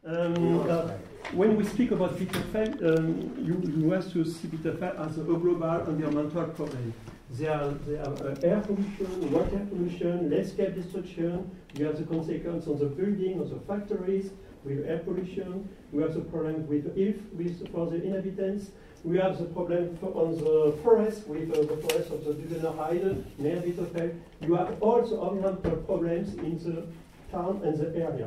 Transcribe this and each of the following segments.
When we speak about Bitterfeld, you have to see Bitterfeld as a global environmental problem. There are air pollution, water pollution, landscape destruction. You have the consequence on the building, on the factories with air pollution. We have the problem with for the inhabitants. We have the problem on the forest with the forest of the Duvener Heide near Bitterfeld. You have all the environmental problems in the town and the area.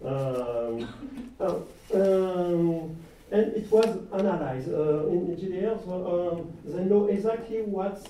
And it was analyzed in engineers. They know exactly what's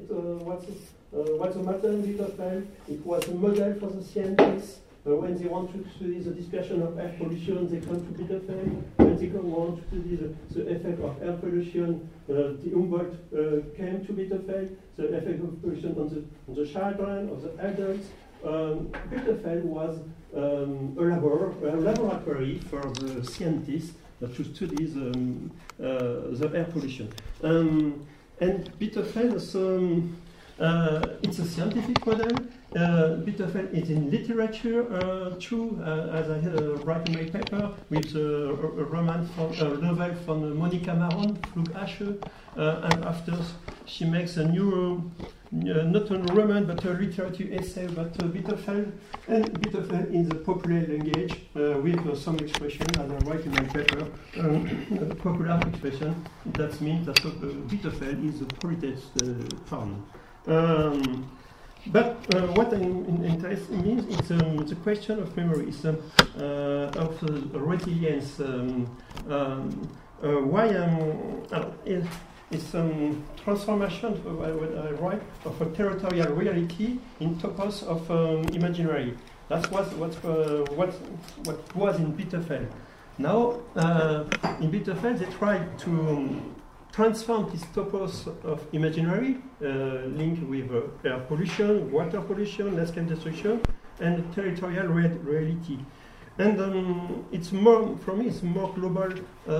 the matter in Bitterfeld. It was a model for the scientists. When they want to study the dispersion of air pollution, they come to Bitterfeld. When they want to study the effect of air pollution, the Humboldt came to Bitterfeld. The effect of pollution on the children, of the adults. Bitterfeld was a laboratory for the scientists to study the air pollution. And Bitterfeld is it's a scientific model. Bitterfeld is in literature too, as I write in my paper with a novel from Monica Maron, Flughache, and after she makes a new, not a roman but a literature essay about Bitterfeld, and Bitterfeld in the popular language with some expression, as I write in my paper, popular expression. That means that Bitterfeld is the politest town. But what interests me is the question of memories, of resilience. Why it's transformation, what I write, of a territorial reality in topos of imaginary. That's what was in Bitterfeld. Now, in Bitterfeld, they tried to transform this topos of imaginary, linked with air pollution, water pollution, landscape destruction, and territorial reality. And it's more, for me, it's more global.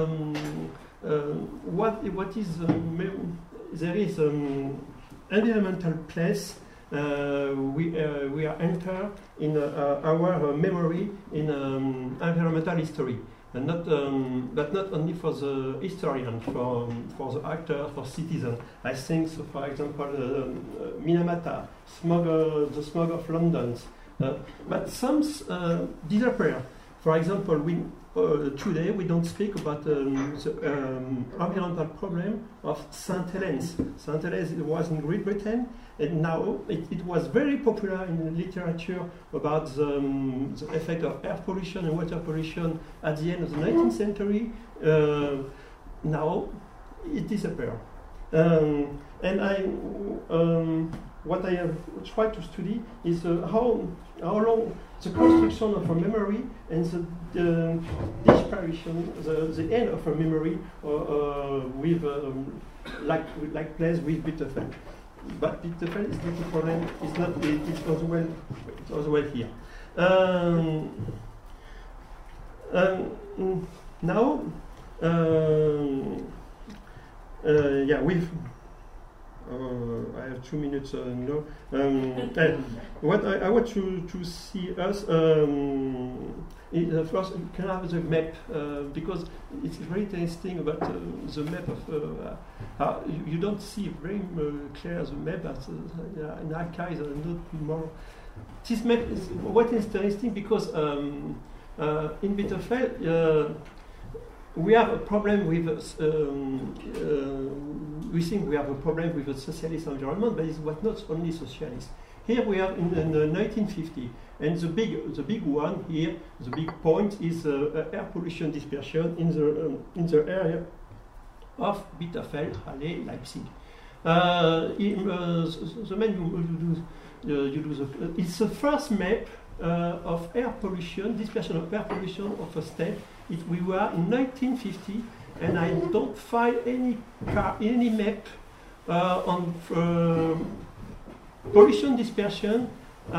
What is there is environmental place. We are enter in our memory in environmental history. And but not only for the historian, for the actor, for citizen. I think, so for example, Minamata, the smog of London. But some disappear. For example, today we don't speak about the environmental problem of St. Helens. St. Helens was in Great Britain, and now it was very popular in the literature about the effect of air pollution and water pollution at the end of the 19th century. Now it disappeared. What I have tried to study is how long the construction of a memory and the disparition, the end of a memory with like place with Bitterfeld. But Bitterfeld is not a problem. It's not. It's as well here. Now, yeah, we've. I have 2 minutes now. What I want to see us is first can I have the map because it's very interesting about the map of you don't see very clear the map as in archives and not more. This map is what is interesting because in Bitterfeld. We have a problem with. We think we have a problem with a socialist environment, but it was not only socialist. Here we are in 1950, and the big one here, the big point is air pollution dispersion in the area of Bitterfeld, Halle, Leipzig. The man it's the first map of air pollution, dispersion of air pollution of a state. We were in 1950, and I don't find any map on pollution dispersion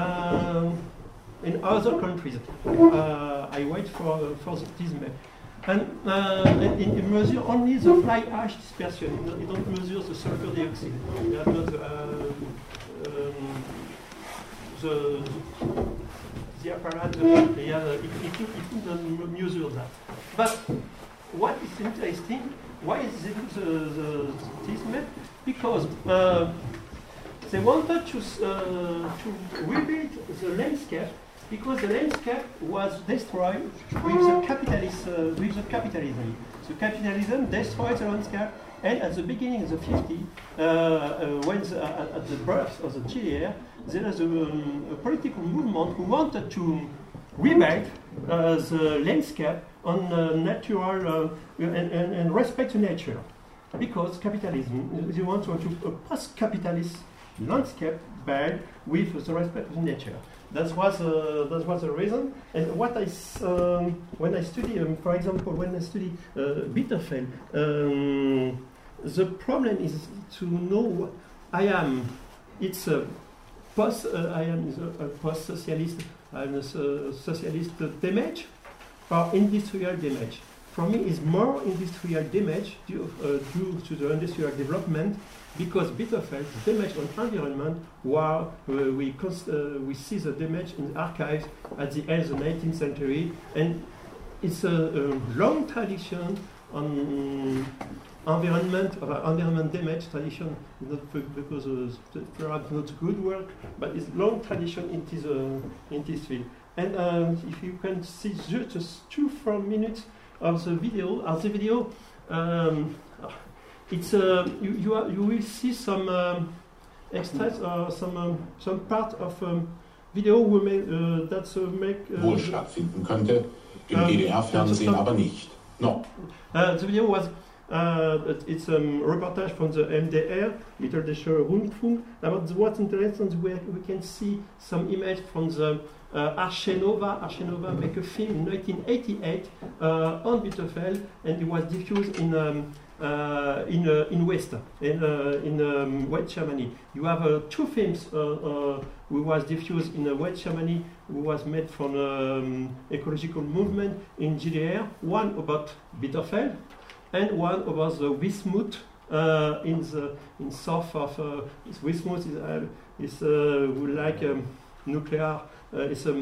in other countries. I wait for this map. And it measures only the fly ash dispersion. It don't measure the sulfur dioxide. You have not the apparat, it couldn't measure that. But what is interesting, why is this made? Because they wanted to rebuild the landscape, because the landscape was destroyed with the capitalism. So capitalism destroyed the landscape, and at the beginning of the 50s, when at the birth of the GDR, there was a political movement who wanted to rebuild the landscape on natural and respect to nature, because capitalism, they want to a post-capitalist landscape built with the respect to nature. That was the reason. And what when I study, for example, when I study Bitterfeld, the problem is to know what I am. It's a I am a post-socialist. I'm a socialist damage or industrial damage. For me, it's more industrial damage due to the industrial development, because Bitterfeld, the damage on environment, while we see the damage in the archives at the end of the 19th century, and it's a long tradition on environment damage tradition, not because perhaps not good work, but it's long tradition in this field. And if you can see just 2-4 minutes of the video, it's you will see some extras or some part of video we that make wohl stattfinden könnte, im DDR-Fernsehen aber nicht. No. The video was it's a reportage from the MDR, Mitteldeutscher Rundfunk. About what's interesting, we can see some image from the Arche Nova. Arche Nova make a film in 1988 on Bitterfeld, and it was diffused in West, in West Germany. You have 2 films who was diffused in West Germany, who was made from ecological movement in GDR. One about Bitterfeld, and one about the Wismut in south of Wismut is like nuclear. It's a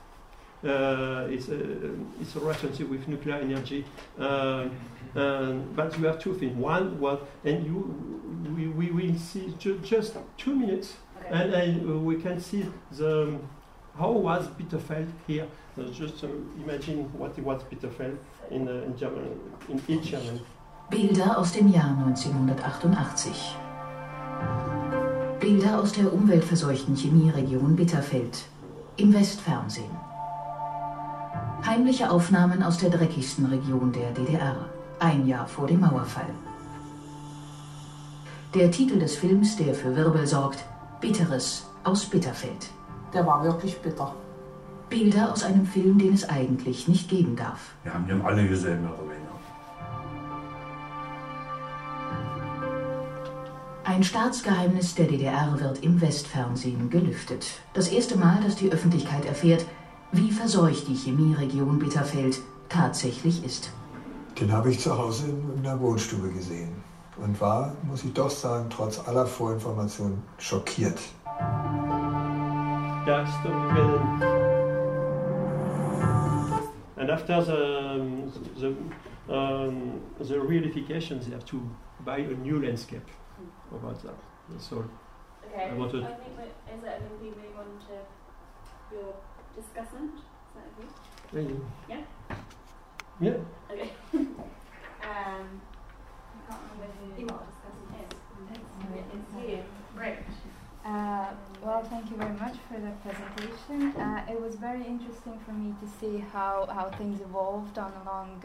relationship with nuclear energy. But you have 2 things. One was, and we will see just 2 minutes, okay. and we can see how was Bitterfeld here. Just imagine what was Bitterfeld in Germany, in East Germany. Bilder aus dem Jahr 1988. Bilder aus der umweltverseuchten Chemieregion Bitterfeld im Westfernsehen. Heimliche Aufnahmen aus der dreckigsten Region der DDR, ein Jahr vor dem Mauerfall. Der Titel des Films, der für Wirbel sorgt: Bitteres aus Bitterfeld. Der war wirklich bitter. Bilder aus einem Film, den es eigentlich nicht geben darf. Wir haben den alle gesehen, mehr oder weniger. Ein Staatsgeheimnis der DDR wird im Westfernsehen gelüftet. Das erste Mal, dass die Öffentlichkeit erfährt, wie verseucht die Chemieregion Bitterfeld tatsächlich ist. Den habe ich zu Hause in der Wohnstube gesehen und war, muss ich doch sagen, trotz aller Vorinformationen schockiert. Yes, and after the reunification, they have to buy a new landscape about that. That's all. Okay. I think is that going to be moving on to your discussant? Is that okay? Really? Yeah. Yeah. Okay. I can't remember who the discussant is. It's you. Great. Well, thank you very much for the presentation. It was very interesting for me to see how things evolved on the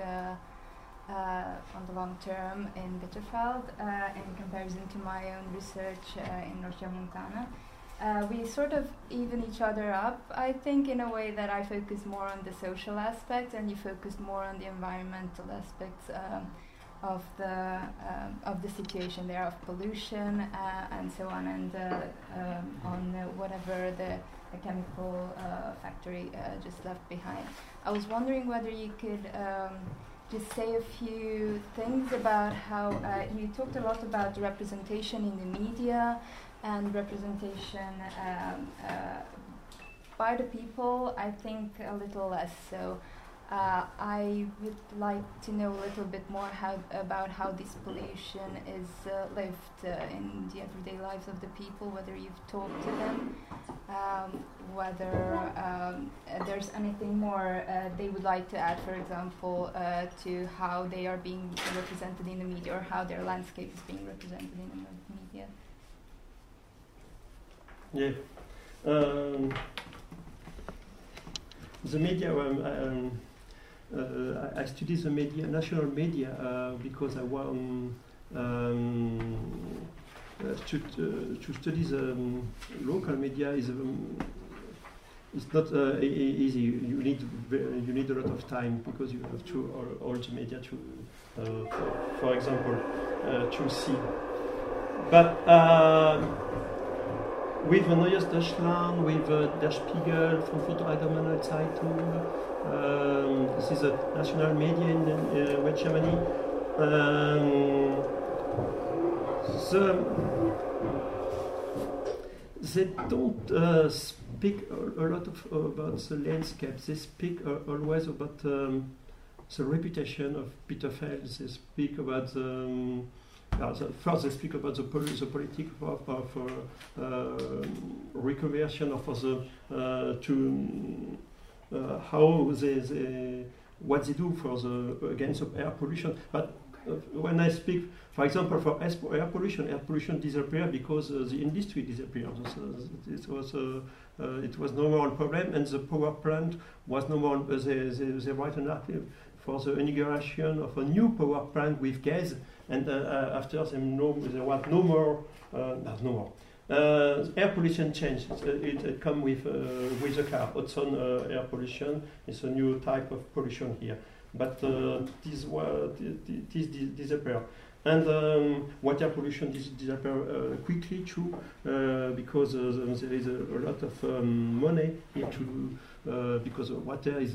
long term in Bitterfeld in comparison to my own research in Regiomontana. We sort of even each other up, I think, in a way that I focus more on the social aspects and you focused more on the environmental aspects of the situation there, of pollution and so on, and on whatever the chemical factory just left behind. I was wondering whether you could just say a few things about how you talked a lot about representation in the media and representation by the people, I think a little less so. I would like to know a little bit more about how this pollution is lived in the everyday lives of the people, whether you've talked to them, whether there's anything more they would like to add, for example, to how they are being represented in the media, or how their landscape is being represented in the media. Yeah. The media, I study the media, national media, because I want to study the local media is it's not easy. You need a lot of time, because you have to all the media to, for example, to see. But with Neues Deutschland, with Der Spiegel, Frankfurter Allgemeine Zeitung, this is a national media in West Germany. They don't speak a lot about the landscape. They speak always about the reputation of Bitterfeld. They speak about first they speak about the politics of reconversion of how they what they do for against air pollution. But when I speak, for example, for air pollution disappeared because the industry disappeared. So it was no more a problem, and the power plant was no more. They write an article for the inauguration of a new power plant with gas, and after there was no more. Air pollution changed. It come with the car. Ozone air pollution is a new type of pollution here. But this disappear. And water pollution disappear quickly too, because there is a lot of money here to because water is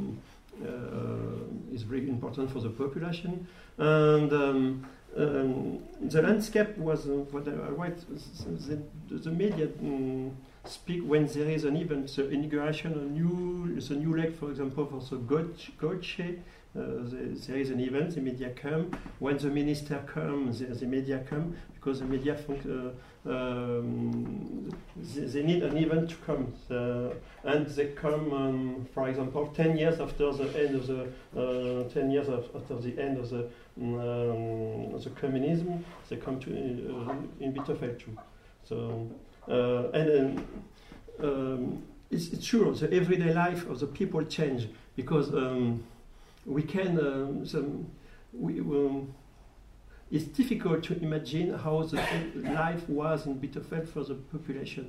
very important for the population. And the landscape was what I write. The media speak when there is an event, the inauguration, the new lake, for example, for the Goethe. There is an event, the media come. When the minister comes, the media come, because the media they need an event to come, and they come. For example, 10 years after the end of the 10 years after the end of the communism, they come to in Bitterfeld too. So it's true. The everyday life of the people change, because we can. It's difficult to imagine how the life was in Bitterfeld for the population.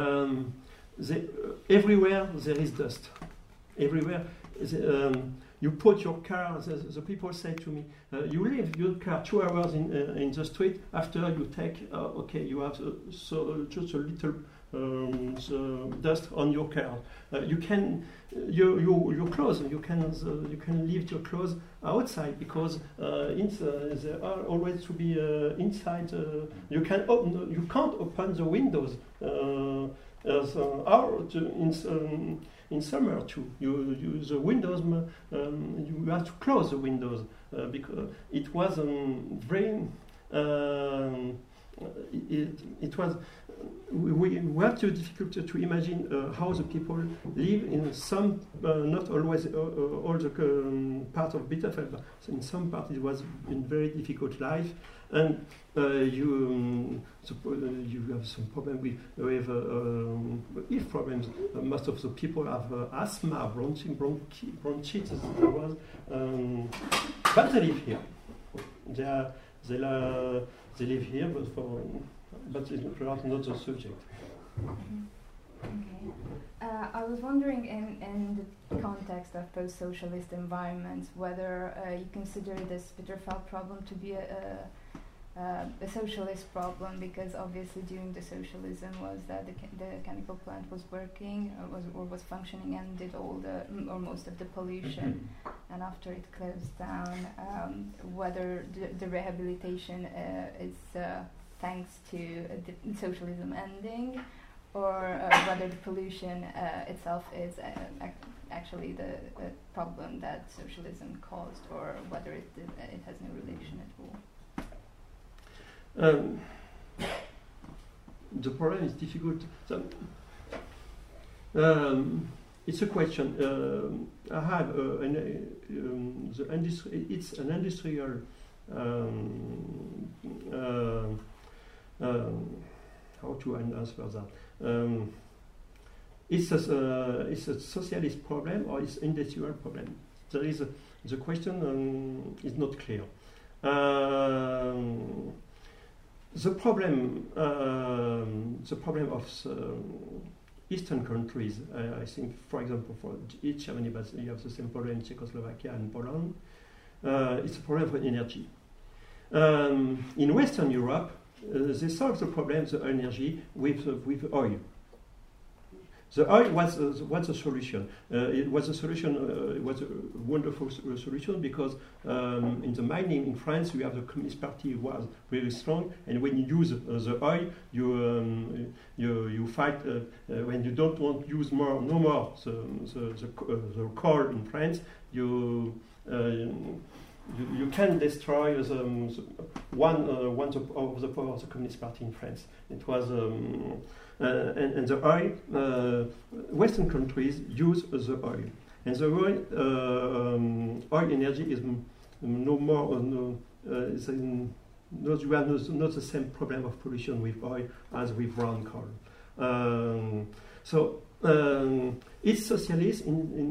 Everywhere there is dust. Everywhere. You put your car, the people say to me, you leave your car 2 hours in the street, after you take, you have just a little dust on your car. You can, your clothes, you can leave your clothes outside, because they are always to be inside. You can't open the windows. In summer too, you use the windows. You have to close the windows because it was very. It was. We have to difficult to imagine how the people live in some, not always all the part of Bitterfeld, but in some part it was a very difficult life, and you have some problem with health problems. Most of the people have asthma, bronchitis. But they live here. They live here, but it's not the subject. Okay. I was wondering, in the context of post-socialist environments, whether you consider this Bitterfeld problem to be a socialist problem, because obviously during the socialism was that the chemical plant was working or was functioning and did all or most of the pollution, and after it closed down, whether the rehabilitation is thanks to socialism ending, or whether the pollution itself is actually the problem that socialism caused, or whether it has no relation at all. The problem is difficult. So, it's a question. I have the industry. It's an industrial. How to answer that? It's a socialist problem or it's industrial problem. There is the question is not clear. The problem of Eastern countries, I think, for example, for each Germany, but you have the same problem in Czechoslovakia and Poland. It's a problem for energy. In Western Europe, they solved the problem of the energy with oil. The oil was a solution. It was a solution. It was a wonderful solution because in the mining in France, you have the Communist Party was very strong, and when you use the oil, you fight. When you don't want to use no more the coal in France, you can destroy one of the power of the Communist Party in France. It was and the oil. Western countries use the oil, and the oil energy is no more. You have not the same problem of pollution with oil as with brown coal. So it's socialist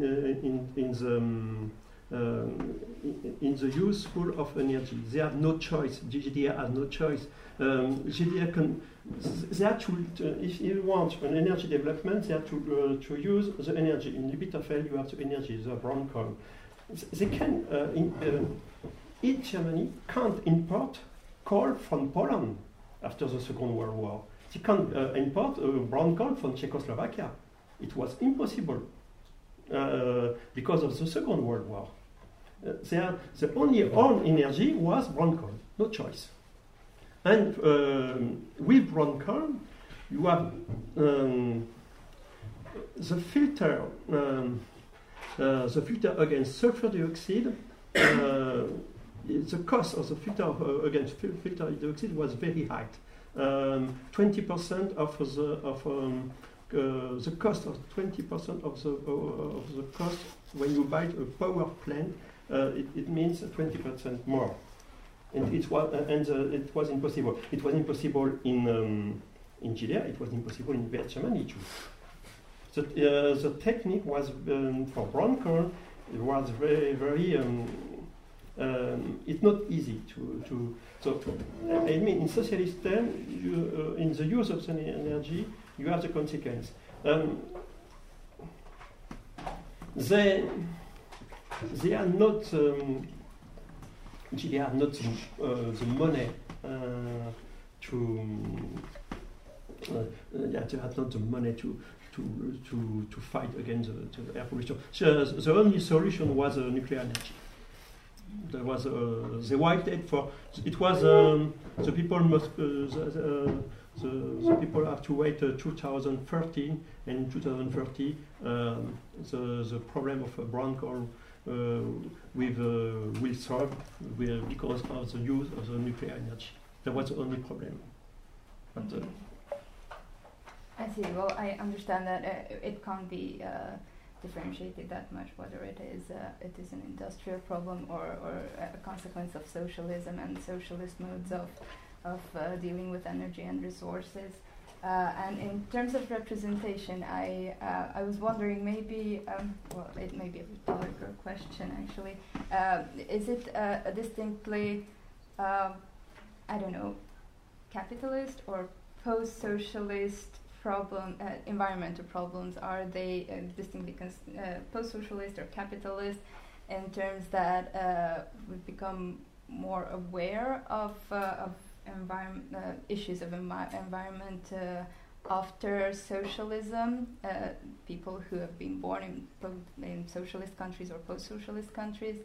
in the useful of energy. They have no choice. GDR has no choice. GDR can. They have to, if you want an energy development, they have to use the energy. In Bitterfeld, you have the energy, the brown coal. They can. Each Germany can't import coal from Poland after the Second World War. They can't import brown coal from Czechoslovakia. It was impossible because of the Second World War. The only own energy was brown coal, no choice. And with brown coal, you have the filter against sulfur dioxide. The cost of the filter against filter dioxide was very high. 20% of the cost of 20% of the cost when you buy a power plant. It means 20% more, and it was impossible. It was impossible in GDR. It was impossible in West Germany too. So the technique was for brown coal. It was very. It's not easy to. So I mean, in socialist terms, in the use of the energy, you have the consequence. They are not. They are not the money to. They have not the money to fight against the air pollution. The only solution was nuclear energy. There was they waited for. It was the people must. The people have to wait 2013, and in 2030 the problem of brown coal will solve because of the use of the nuclear energy. That was the only problem. But, I see. Well, I understand that it can't be differentiated that much whether it is an industrial problem or a consequence of socialism and socialist modes of dealing with energy and resources. And in terms of representation, I was wondering maybe, well, it may be a rhetorical question actually. Is it a distinctly, I don't know, capitalist or post-socialist problem, environmental problems? Are they distinctly post-socialist or capitalist in terms that we've become more aware of issues of environment after socialism? People who have been born in socialist countries or post-socialist countries.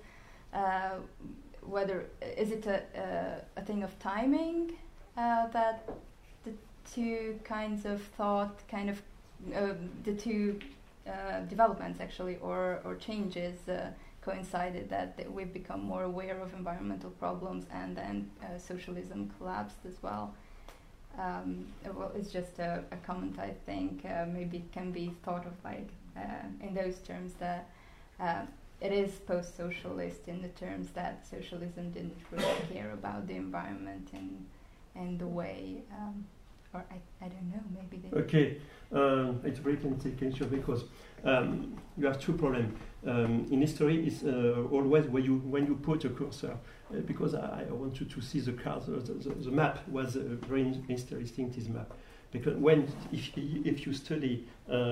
Whether is it a thing of timing that two kinds of thought, the two developments actually, or changes coincided, that we've become more aware of environmental problems, and then socialism collapsed as well. Well, it's just a comment, I think. Maybe it can be thought of like in those terms, that it is post-socialist in the terms that socialism didn't really care about the environment in the way, or I don't know, maybe they... Okay, it's very complicated because you have two problems. In history, it's always when you put a cursor, because I want you to see the card, the map was a very interesting, this map. Because if you study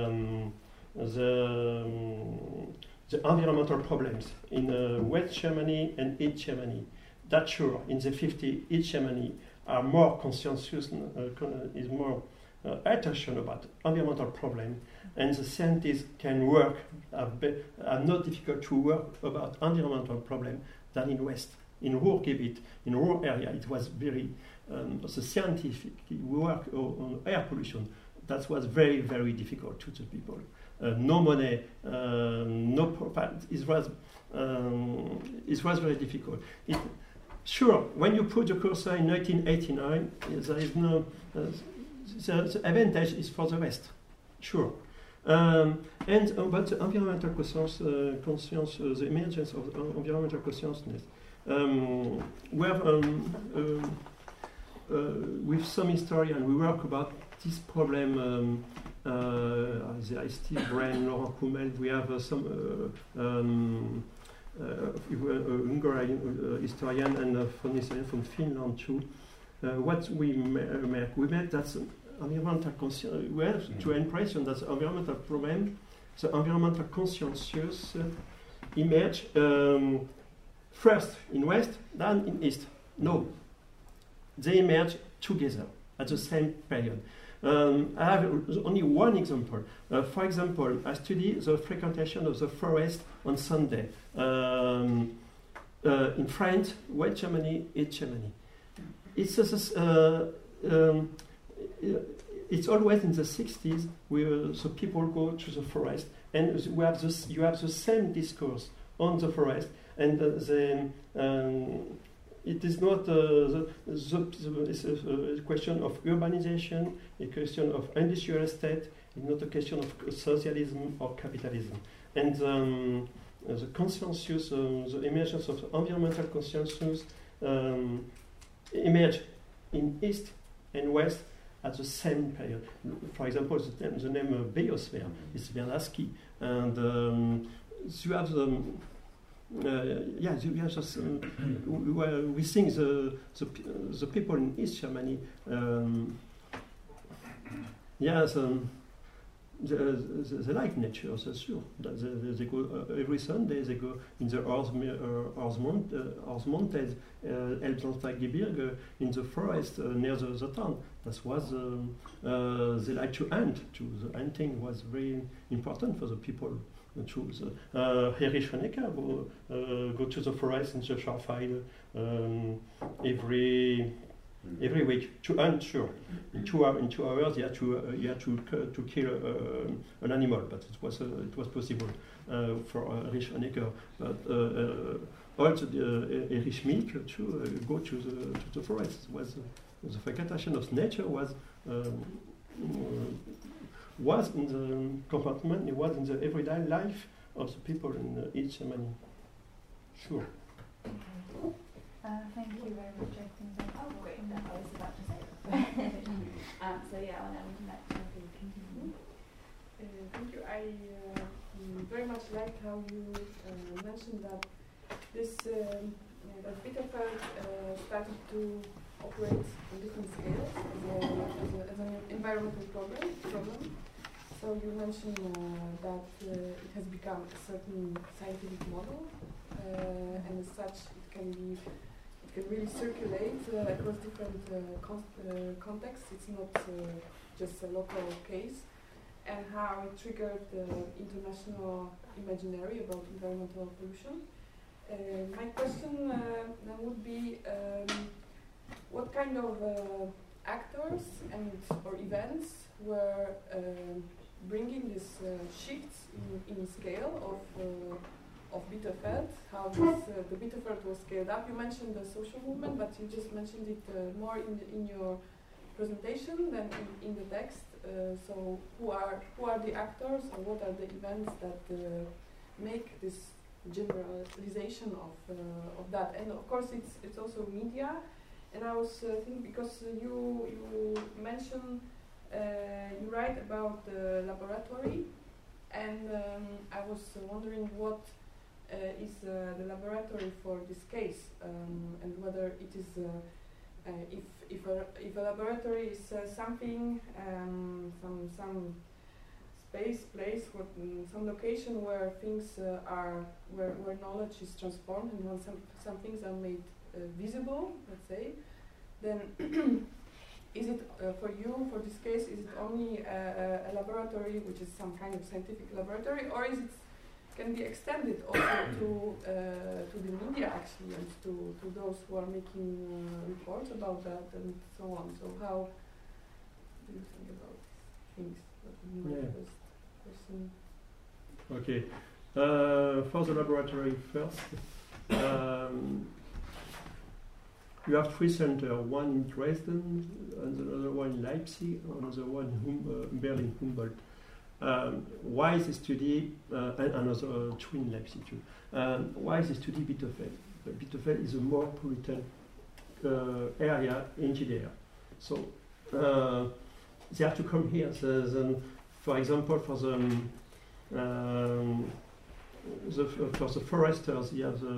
the environmental problems in West Germany and East Germany, that's sure, in the 50s, East Germany are more conscious, is more attention about environmental problem, and the scientists can work, are not difficult to work about environmental problem than in West. In Ruhrgebiet, in rural area, it was very, the scientific work on air pollution, that was very, very difficult to the people. No money, no profit, it was very difficult. Sure, when you put the cursor in 1989, there is no, the advantage is for the West, sure. And about the environmental conscience, the emergence of environmental consciousness, we have, with some historians, we work about this problem. There is Steve Brand, Laurent Kummel. We have some Hungarian historian and foreign historian from Finland too. What we make that environmental conscience. We have to impression that the environmental problem, the environmental conscientious emerge first in West, then in East. No, they emerge together at the same period. I have only one example. For example, I study the frequentation of the forest on Sunday in France, West Germany, East Germany. It's always in the 60s where the people go to the forest, and you have the same discourse on the forest, and it is not it's a question of urbanization, a question of industrial estate, it's not a question of socialism or capitalism. And the consensus, the emergence of environmental consensus emerged in East and West at the same period. For example, the name biosphere is Vernadsky, and you have the you have just, we think the people in East Germany, they like nature, that's sure. They go every Sunday. They go in the Harz Mountains, Elbsandsteingebirge, in the forest near the town. That was they like to hunt too. The hunting was very important for the people. Erich Honecker go to the forest in the Schwarzwald every week to hunt. Sure, in 2 hours you had to kill an animal, but it was possible for Erich Honecker. But also Erich Schmidt to go to the forest. Was the frequentation of nature was in the compartment, it was in the everyday life of the people in East Germany. Sure. Thank you very much. I think that's great. I was about to say that. So yeah, I'll now continue. Thank you. I very much like how you mentioned that this that Bitterfeld started to operate on different scales as an environmental problem. So you mentioned that it has become a certain scientific model, and as such, it can really circulate across different contexts. It's not just a local case, and how it triggered the international imaginary about environmental pollution. My question would be, what kind of actors actors and or events were bringing this shifts in scale of Bitterfeld, how this, the Bitterfeld was scaled up. You mentioned the social movement, but you just mentioned it more in your presentation than in the text. So who are the actors, or what are the events that make this generalization of that? And of course, it's also media. And I was thinking, because you mentioned, you write about the laboratory, and I was wondering what is the laboratory for this case, and whether it is if a laboratory is something, some space, place, some location where things are where knowledge is transformed, and when some things are made visible, let's say, then is it for you, for this case, is it only a laboratory which is some kind of scientific laboratory, or is it can be extended also to the media actually, and to those who are making reports about that and so on? So how do you think about things? Okay. For the laboratory first, you have three centers, one in Dresden, and the other one in Leipzig, and another one in Berlin, Humboldt. Why this study, and another two in Leipzig too. Why this study Bitterfeld? Bitterfeld is a more polluted area in GDR. So they have to come here. For example, for the foresters, you have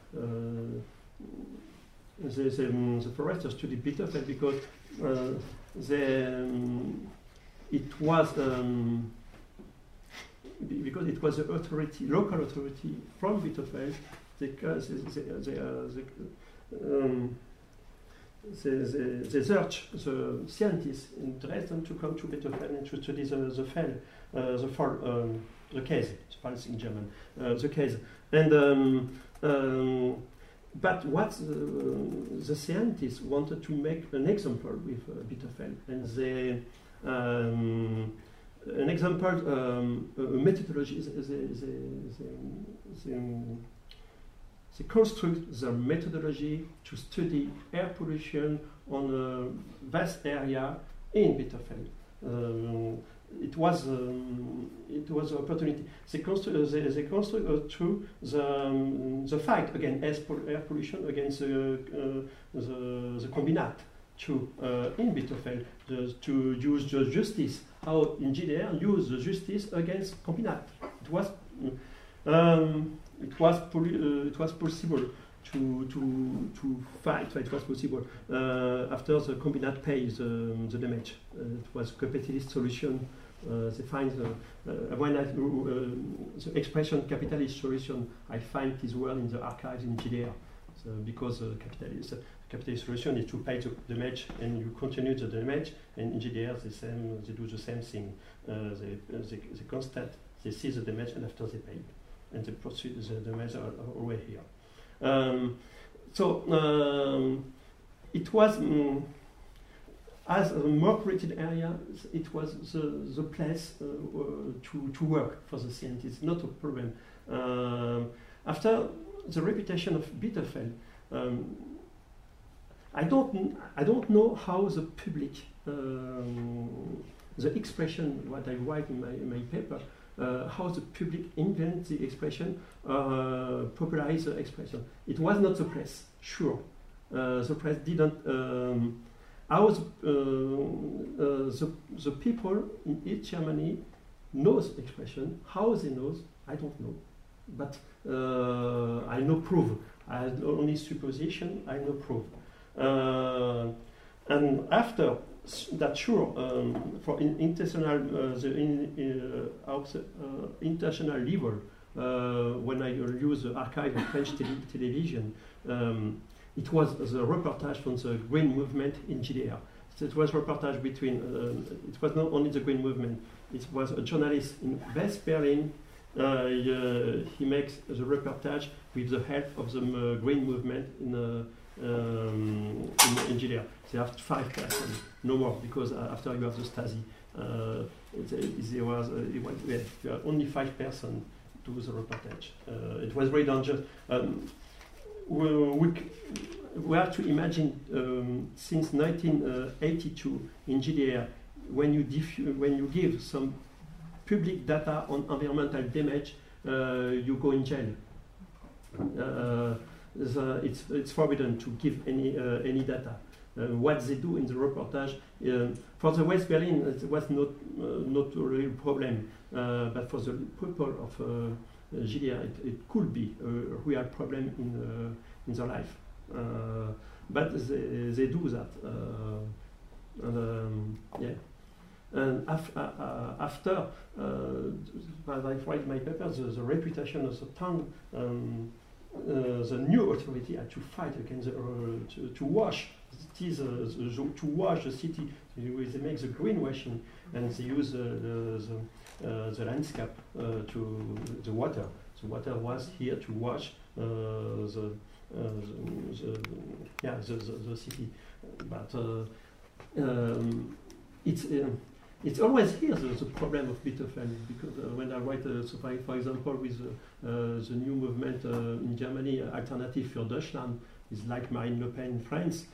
the foresters study Bitterfeld because it was the authority, local authority from Bitterfeld. They search the scientists in Dresden to come to Bitterfeld and to study the case. It's in German. The case, and but what the scientists wanted to make an example with Bitterfeld, and they an example, a methodology. They construct their methodology to study air pollution on a vast area in Bitterfeld. It was an opportunity. They construct through the fight against air pollution against the combinat in Bitterfeld to use the justice. How in GDR use the justice against combinat. It was possible to fight. It was possible after the combinat pays the damage. It was a capitalist solution. They find when the expression capitalist solution, I find this word in the archives in GDR. So because capitalist solution is to pay the damage and you continue the damage, and in GDR they do the same thing. They constate, they see the damage, and after they pay, and the damage are always here. It was as a more polluted area. It was the place to work for the scientists, not a problem. After the reputation of Bitterfeld, I don't know how the public, the expression, what I write in my paper, how the public invent the expression, popularize the expression. It was not the press, sure. The press didn't. How the people in East Germany knows expression. How they knows, I don't know. But I know proof. I have only supposition. I know proof. And after that, sure, for international international level, when I use the archive of French television, it was the reportage from the Green Movement in GDR. So it was reportage between. It was not only the Green Movement. It was a journalist in West Berlin he makes the reportage with the help of the green movement in Judea. They have 5 persons, no more, because after you have the Stasi, there were only 5 persons to the reportage. It was very dangerous. We have to imagine since 1982 in Judea, when you give some public data on environmental damage, you go in jail. It's forbidden to give any data. What they do in the reportage for the West Berlin, it was not a real problem, but for the people of Judea, it could be a real problem in their life. But they do that. And after as I write my paper, the reputation of the town, the new authority had to fight against to wash. It is to wash the city. They make the greenwashing, and they use the landscape to the water. The water was here to wash the city, but it's always here the problem of Bitterfeld, because when I write, for example, with the new movement in Germany, Alternative für Deutschland, is like Marine Le Pen in France.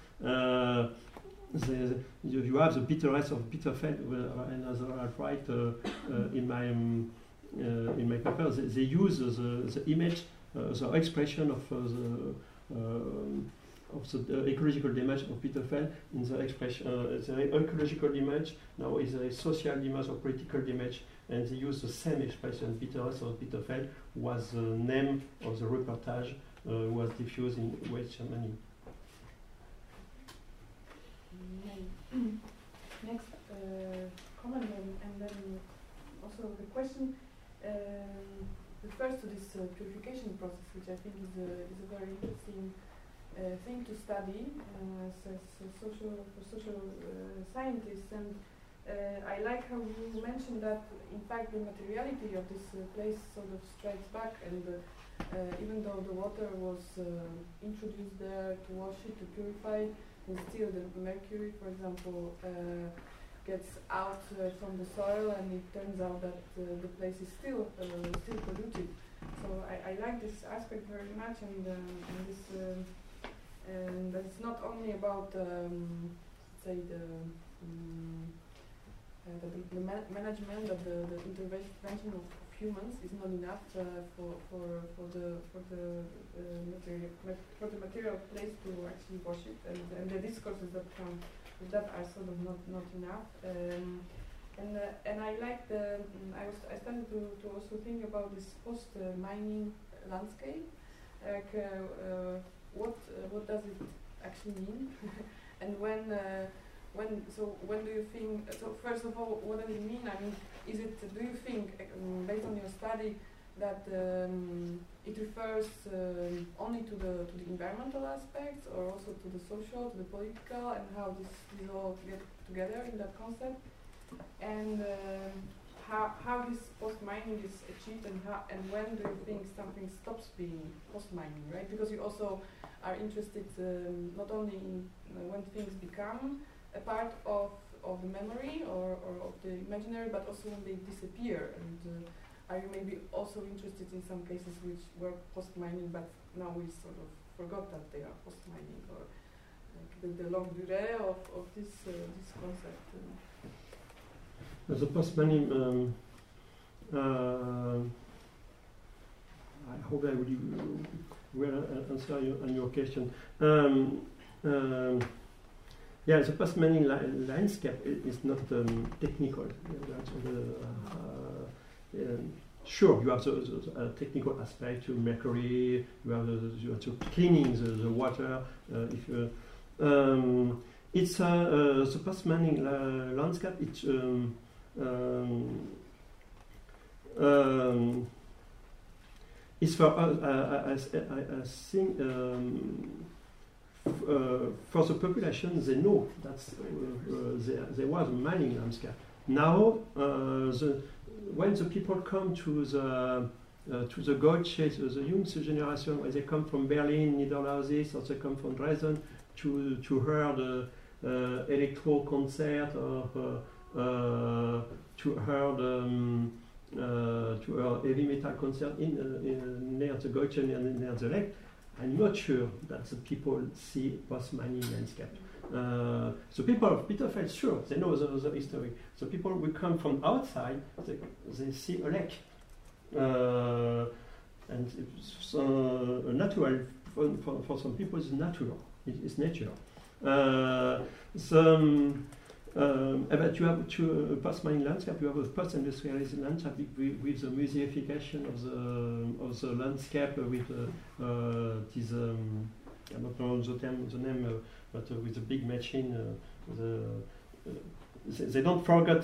You have the bitterness of Bitterfeld, and as I write in my paper, they use the image, the expression of the ecological damage of Bitterfeld in the expression. The ecological damage now is a social damage or political damage, and they use the same expression. Bitterness of Bitterfeld was the name of the reportage was diffused in West Germany. Next comment, and then also the question refers to this purification process, which I think is a very interesting thing to study as social scientists. And I like how you mentioned that in fact the materiality of this place sort of strikes back, and even though the water was introduced there to wash it, to purify it, and still the mercury, for example, gets out from the soil, and it turns out that the place is still polluted. So I like this aspect very much, and this. And it's not only about, say, the management of the intervention of humans is not enough for the material place to actually wash it, and the discourses that come with that are sort of not enough. And I like I started to also think about this post-mining landscape, like. What does it actually mean? And when do you think? So first of all, what does it mean? I mean, do you think, based on your study, that it refers only to the environmental aspects, or also to the social, to the political, and how these all get together in that concept? And how this post-mining is achieved, and when do you think something stops being post-mining, right? Because you also are interested not only in when things become a part of the memory or of the imaginary, but also when they disappear. And are you maybe also interested in some cases which were post-mining, but now we sort of forgot that they are post-mining, or like the longue durée of this concept? The post-mining, I hope I will answer on your question. The post-mining landscape is not technical. Sure, you have the technical aspect to mercury. You have to cleaning the water. It's the post-mining landscape. It's it's for I think for the population, they know that there was a mining landscape. now, when the people come to the Goethe, the Jüngste generation, when they come from Berlin, Niederlausitz, or they come from Dresden to hear the electro concert or to hear heavy metal concert near the Goethe, near the lake, I'm not sure that the people see post-mining landscape. The people of Bitterfeld, sure, they know the history. The people who come from outside, they see a lake. And it's natural, for some people it's natural, it's nature. But you have to post-mining landscape, you have a post-industrialized landscape with the museification of the landscape with this, I don't know the name, but with the big machine, they don't forget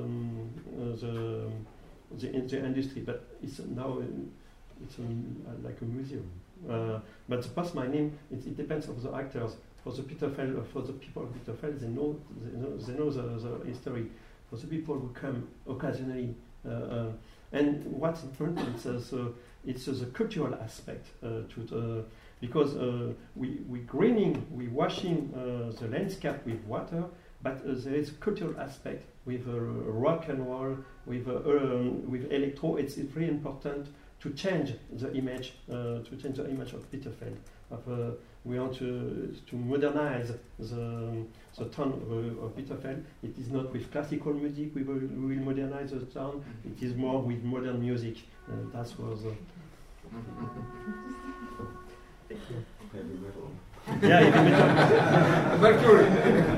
the industry, but it's now it's like a museum. But the post-mining, it depends on the actors. For the Bitterfeld, for the people of Bitterfeld, they know the history. For the people who come occasionally, and what's important it's the cultural aspect because we greening, we washing the landscape with water, but there is a cultural aspect with rock and roll, with electro. It's really important to change the image, of Bitterfeld. We want to modernize the town of Bitterfeld. It is not with classical music we will modernize the town. It is more with modern music. That was. Heavy metal. Yeah, heavy metal. Mercury.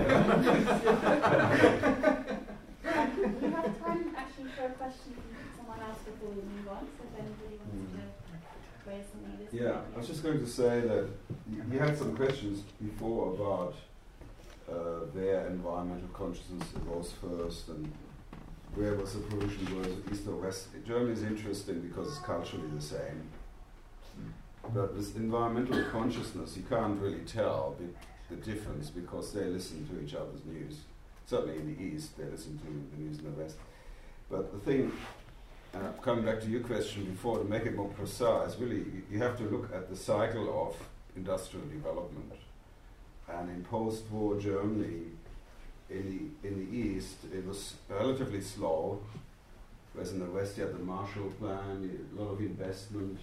We have time actually for a question from someone else before we move on. So if anybody wants to raise something this Yeah, I was just going to say that you had some questions before about where environmental consciousness arose first and where was the pollution, was it east or west. Germany is interesting because it's culturally the same. But with environmental consciousness, you can't really tell the difference because they listen to each other's news. Certainly in the East, they listen to the news in the West. But the thing, coming back to your question before, to make it more precise, really, you have to look at the cycle of industrial development. And in post-war Germany, in the East, it was relatively slow, whereas in the West you had the Marshall Plan, a lot of investment.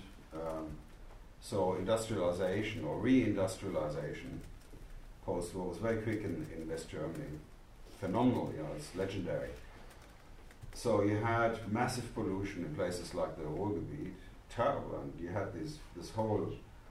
So industrialization or re-industrialization post-war was very quick in West Germany. Phenomenal, it's legendary. So you had massive pollution in places like the Ruhrgebiet, terrible, and you had this whole,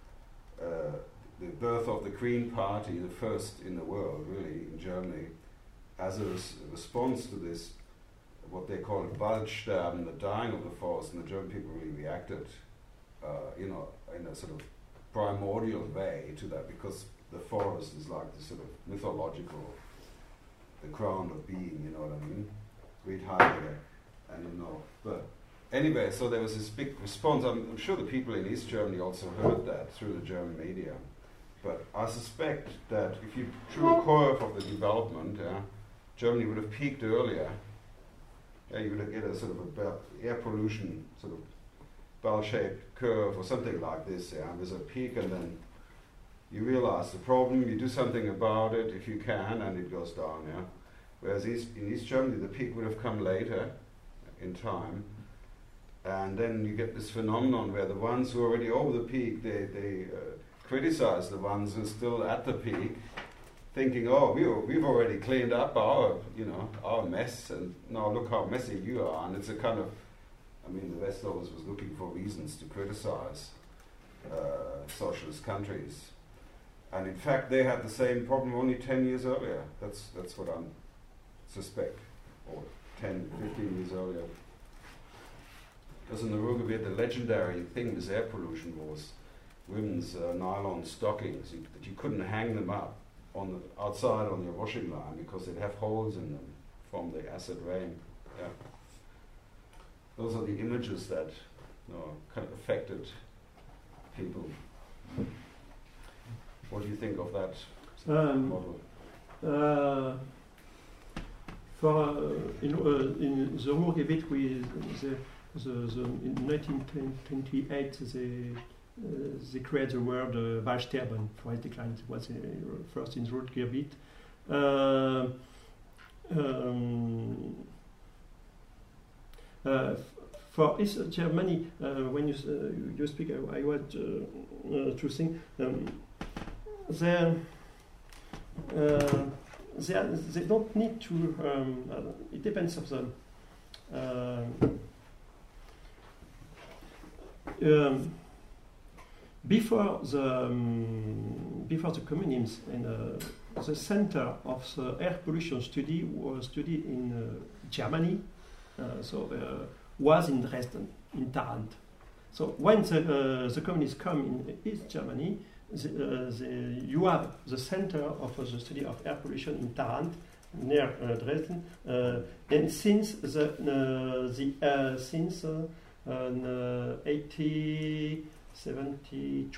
the birth of the Green Party, the first in the world, really, in Germany, as a response to this, what they call Waldsterben, the dying of the forest, and the German people really reacted, in a sort of primordial way to that, because the forest is like the sort of mythological, the crown of being, you know what I mean? Read Heidegger, and but anyway, so there was this big response. I'm sure the people in East Germany also heard that through the German media. But I suspect that if you drew a curve of the development, Germany would have peaked earlier. You would get a sort of air pollution sort of bell-shaped curve or something like this. There's a peak, and then you realize the problem, you do something about it if you can, and it goes down. Whereas in East Germany, the peak would have come later in time, and then you get this phenomenon where the ones who are already over the peak, they criticize the ones who are still at the peak, thinking, oh, we've already cleaned up our mess, and now look how messy you are. And it's a kind of, the West always was looking for reasons to criticize socialist countries. And in fact, they had the same problem only 10 years earlier. That's what I suspect, or 10, 15 years earlier. Because in the Ruhrgebiet, the legendary thing with air pollution was women's nylon stockings. You couldn't hang them up outside on your washing line because they'd have holes in them from the acid rain. Those are the images that kind of affected people. What do you think of that model? in the Ruhrgebiet, in 1928 they created the word Waldsterben, forest decline. It was first in the Ruhrgebiet. For East Germany, when you speak, I want to think they don't need to. It depends of the. Before the communism, and the center of the air pollution study was studied in Germany, was in Dresden, in Tarant. So when the communists come in East Germany, you have the center of the study of air pollution in Tarant, near Dresden, and since 1872,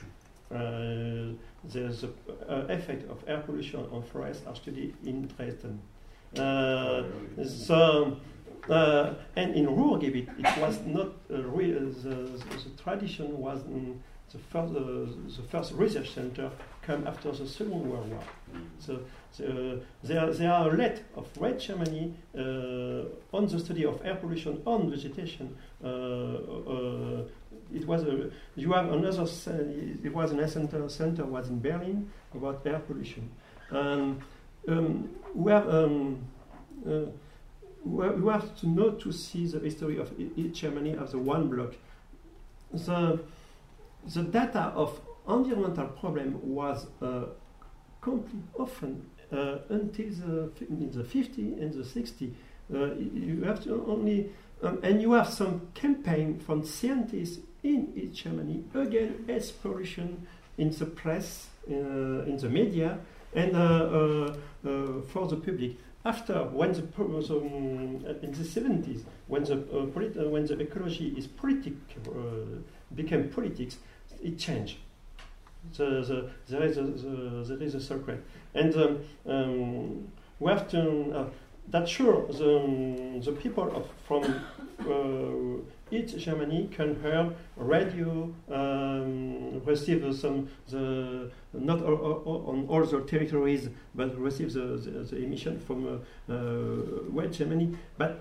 the effect of air pollution on forests are studied in Dresden. And in Ruhrgebiet, it was not the tradition was the first research center come after the Second World War. So there are a lot of West Germany on the study of air pollution on vegetation. It was you have another. It was an center was in Berlin about air pollution, and we have to know to see the history of each Germany as a one block. The data of environmental problem was complete often until in the 50s and the 60s. You have to only and you have some campaign from scientists in East Germany against air pollution in the press, in the media, and for the public. After, when in the 70s, when the ecology is became politics, it changed. There is a secret, and we have to. That's sure. The people from East Germany can hear radio, receive not on all the territories, but receive the emission from West Germany. But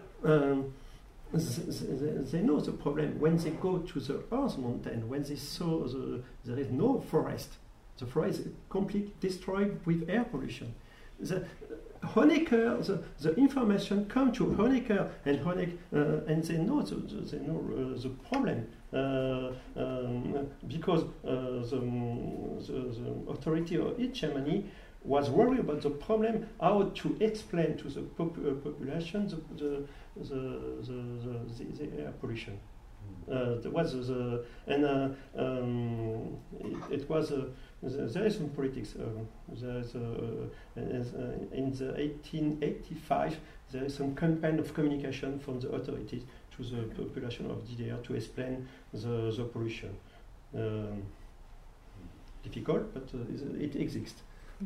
they know the problem when they go to the Earth Mountain, when they saw there is no forest. The forest is completely destroyed with air pollution. Honecker, the information come to Honecker, and they know the problem because the authority of East Germany was worried about the problem, how to explain to the population the air pollution. It was there is some politics. In the 1885, there is some campaign of communication from the authorities to the population of DDR to explain the pollution. Difficult, but it exists.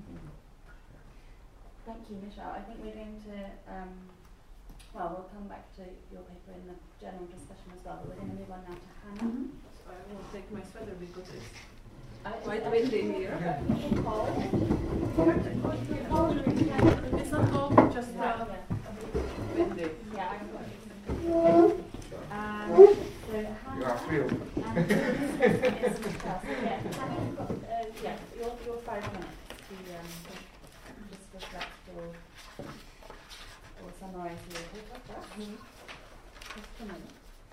Thank you, Michelle. I think we're going to, we'll come back to your paper in the general discussion as well, but we're going to move on now to Hannah. So I will take my sweater because it's quite windy here. It's not cold, just windy. Yeah, I got it. So Hannah, you are thrilled. Your 5 minutes to just reflect or summarise your paper. Just a minute.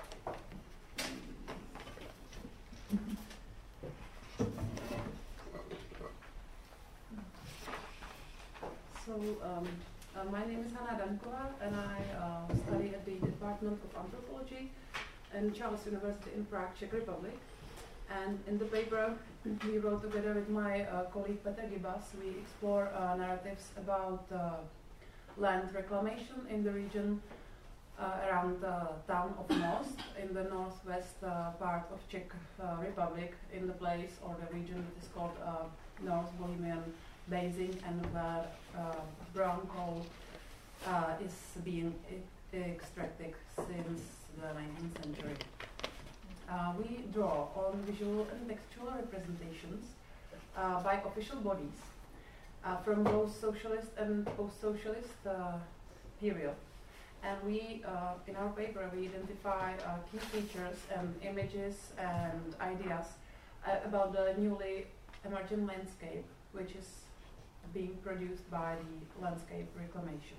So my name is Hannah Dankova, and I study at the Department of Anthropology in Charles University in Prague, Czech Republic. And in the paper we wrote together with my colleague Petr Gibas, we explore narratives about land reclamation in the region around the town of Most, in the northwest part of Czech Republic, in the place or the region that is called North Bohemian Basin, and where brown coal is being extracted since the 19th century. We draw on visual and textual representations by official bodies from both socialist and post-socialist period. And we, in our paper, we identify key features and images and ideas about the newly emerging landscape, which is being produced by the landscape reclamation.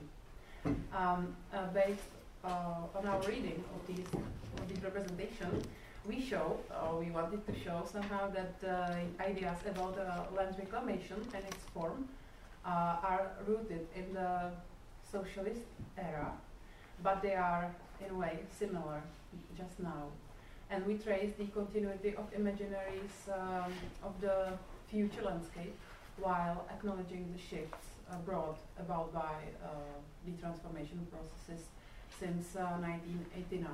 Based on our reading of these representations, we wanted to show somehow that ideas about land reclamation and its form are rooted in the socialist era, but they are in a way similar just now. And we trace the continuity of imaginaries of the future landscape while acknowledging the shifts brought about by the transformation processes since 1989.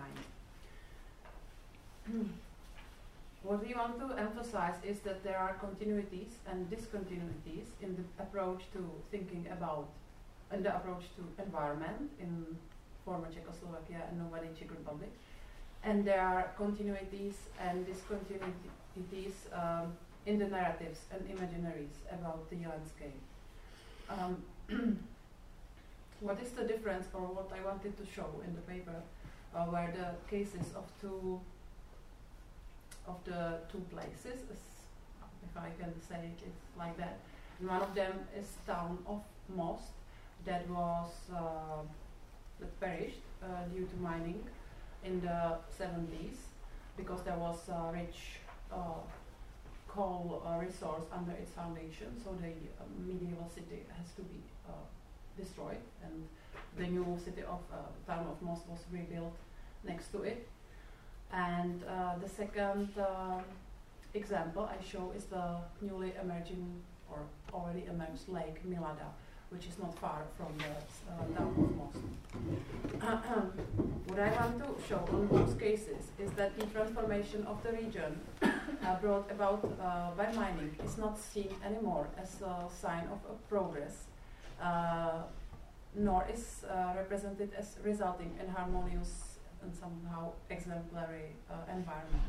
What we want to emphasize is that there are continuities and discontinuities in the approach to thinking about and the approach to environment in former Czechoslovakia and nowadays Czech Republic. And there are continuities and discontinuities in the narratives and imaginaries about the landscape. What is the difference, or what I wanted to show in the paper, were the cases of the two places, if I can say it like that. And one of them is town of Most, that was that perished due to mining in the 70s, because there was a rich coal resource under its foundation, so the medieval city has to be destroyed, and the new city of town of Most was rebuilt next to it. And the second example I show is the newly emerging or already emerged lake Milada, which is not far from the town of Most. What I want to show in both cases is that the transformation of the region brought about by mining is not seen anymore as a sign of progress, nor is represented as resulting in harmonious and somehow exemplary environment.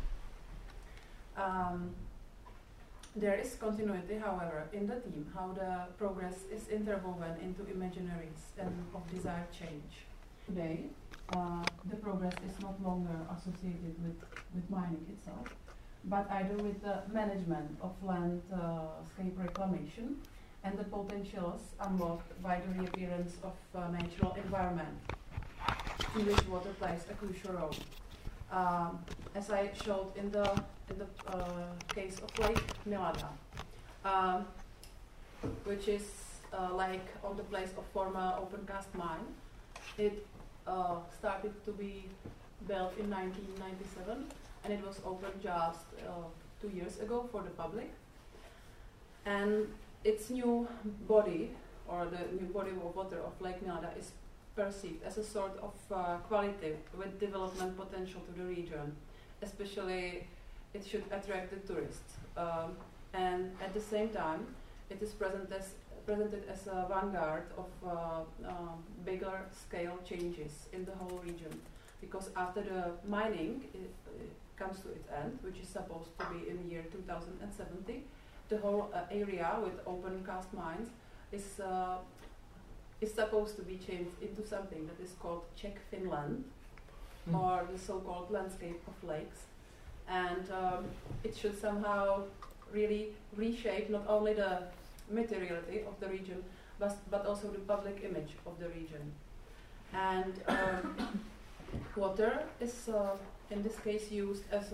There is continuity, however, in the theme, how the progress is interwoven into imaginaries and of desired change. Today, the progress is not longer associated with mining itself, but either with the management of landscape reclamation and the potentials unlocked by the reappearance of natural environment, in which water plays a crucial role. As I showed in the case of Lake Milada, which is like on the place of former open cast mine. It started to be built in 1997, and it was opened just 2 years ago for the public. And its new body, or the new body of water of Lake Milada, is perceived as a sort of quality with development potential to the region. Especially, it should attract the tourists. And at the same time, it is presented as a vanguard of bigger scale changes in the whole region. Because after the mining comes to its end, which is supposed to be in the year 2070, the whole area with open cast mines is supposed to be changed into something that is called Czech Finland, or the so-called landscape of lakes. And it should somehow really reshape not only the materiality of the region, but also the public image of the region. And water is in this case used as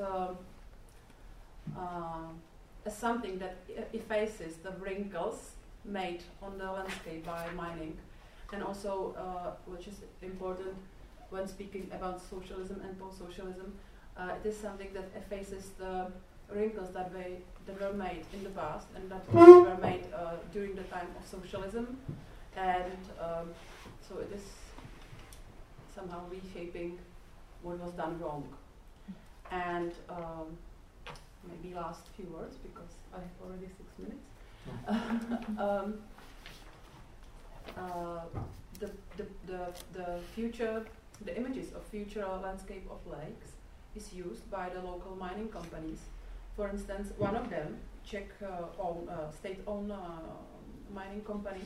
something that effaces the wrinkles made on the landscape by mining, and also, which is important when speaking about socialism and post-socialism, it is something that effaces the wrinkles that were made in the past and that were made during the time of socialism, and so it is somehow reshaping what was done wrong. And maybe last few words, because I have already 6 minutes. the future, the images of future landscape of lakes is used by the local mining companies. For instance, one of them, Czech state-owned mining company,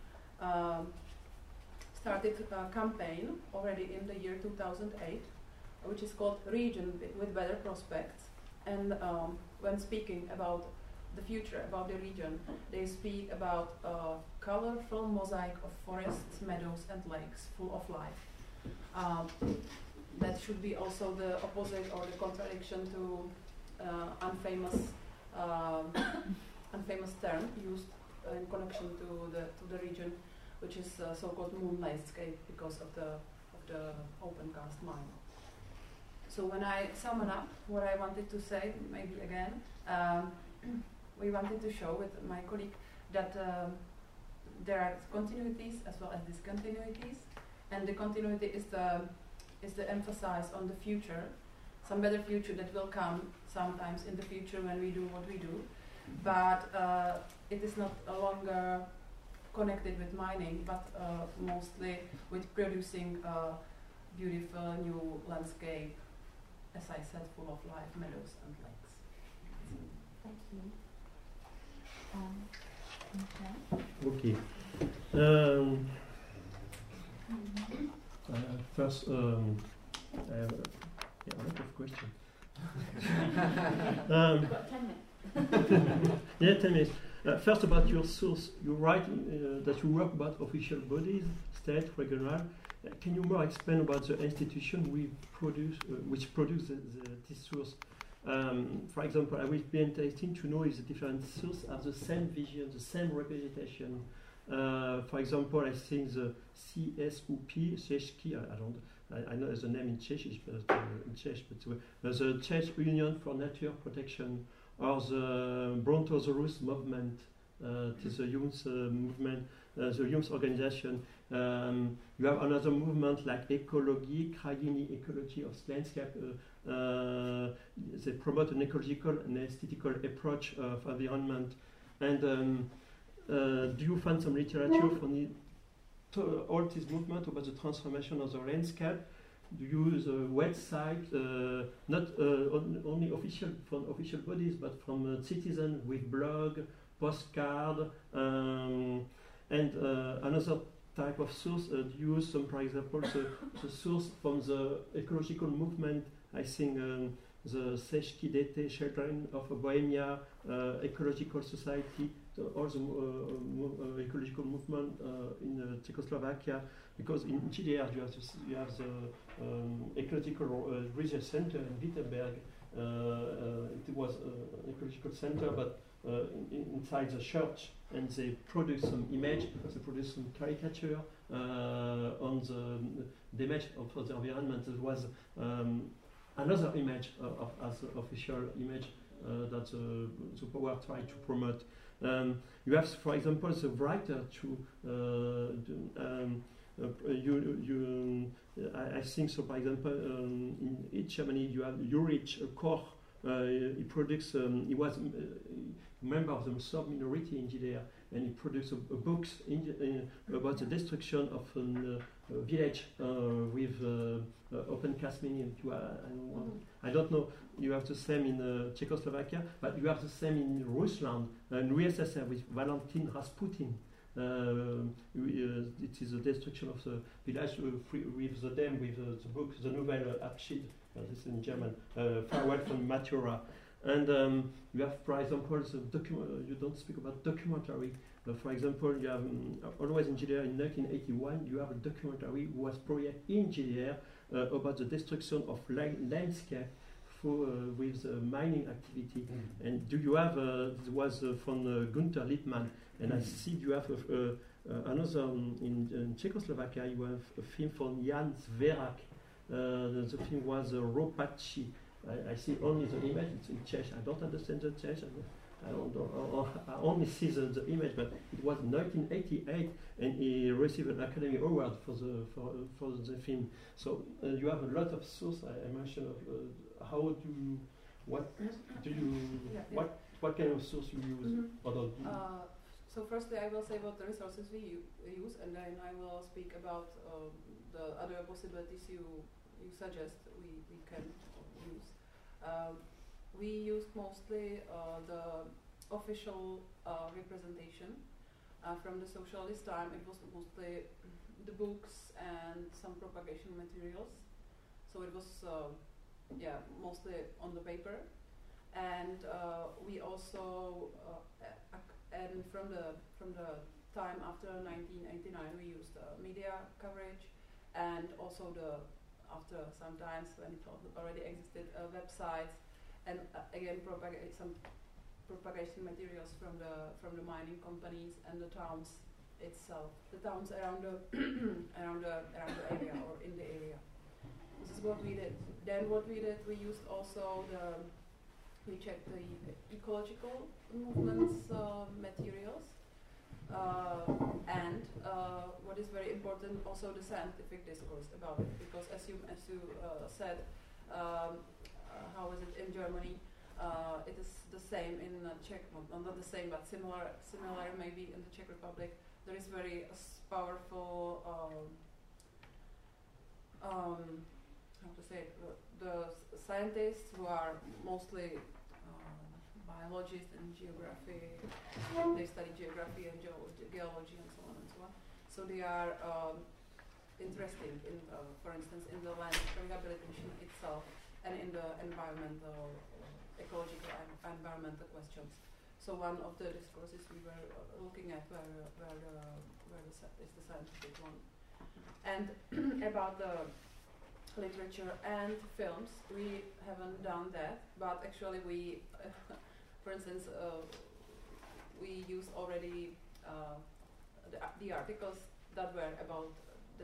started a campaign already in the year 2008, which is called Region with Better Prospects. And when speaking about the future, about the region, they speak about a colorful mosaic of forests, meadows, and lakes full of life. That should be also the opposite or the contradiction to unfamous term used in connection to the region, which is so-called moon landscape because of the open cast mine. So when I sum it up, what I wanted to say, maybe again, we wanted to show with my colleague that there are continuities as well as discontinuities, and the continuity is the emphasis on the future, some better future that will come sometimes in the future when we do what we do, but it is not longer connected with mining, but mostly with producing a beautiful new landscape, as I said, full of life, meadows and lakes. Thank you. Okay. First, I have a lot of questions. Got 10 minutes. Yeah, 10 minutes. First, about your source. You write that you work about official bodies, state, regional. Can you more explain about the institution which produce this source? For example, I will be interested to know if the different sources have the same vision, the same representation. For example, I think the CSUP, Czechski, I know the name in Czech, but the Czech Union for Nature Protection, or the Brontosaurus movement, it is a youth movement, the youth organization. You have another movement like Ecologie, Kraïny Ecology of landscape. They promote an ecological and aesthetical approach of environment. And do you find some literature from all this movement about the transformation of the landscape? Do you use a website, not only from official bodies, but from citizens with blog, postcard, and another type of source? Do you use some, for example, the source from the ecological movement? I think the Czechski DT, Children of Bohemia, Ecological Society, all the ecological movement in Czechoslovakia, because in GDR you have the Ecological Research Center in Wittenberg. It was an ecological center, but inside the church, and they produce some image, they produce some caricature on the image of the environment. There was another image as official image that the power tried to promote. You have, for example, the writer I think so. For example, in East Germany, you have Ulrich Koch. He produced. He was a member of the Serb minority in Judea, and he produced books about the destruction of a village with open cast mining. I don't know. You have the same in Czechoslovakia, but you have the same in Russia and USSR with Valentin Rasputin. It is the destruction of the village with the dam, with the book, the novel Abschied, this is in German, Farewell from Matura. And you have, for example, you don't speak about documentary. For example, you have always in GDR in 1981, you have a documentary who was projected in GDR about the destruction of landscape with mining activity. And do you have, it was from Günther Littmann, and I see you have another, in Czechoslovakia, you have a film from Jan Zverak. The film was Ropaci. I see only the image, it's in Czech. I don't understand the Czech. I only see the image, but it was 1988, and he received an Academy Award for the film. So you have a lot of sources. I mentioned what kind of source you use? So firstly, I will say what the resources we use, and then I will speak about the other possibilities you suggest we can use. We used mostly the official representation from the socialist time. It was mostly the books and some propagation materials. So it was mostly on the paper, and we also and from the time after 1989 we used media coverage, and also after some times when it already existed websites, and again some propagation materials from the mining companies and the towns itself, the towns around the around the area or in the area. This is what we did. Then what we did, we used also we checked the ecological movements materials, and what is very important, also the scientific discourse about it, because as you said, how is it in Germany? It is the same in Czech, not the same, but similar maybe in the Czech Republic. There is very powerful, how to say it, the scientists who are mostly biologists and geography. They study geography and geology and so on and so on. So they are interested in, for instance, in the land rehabilitation itself and in the environmental, ecological and environmental questions. So one of the discourses we were looking at is the scientific one. And about the literature and films, we haven't done that, but actually we, for instance, we used already the articles that were about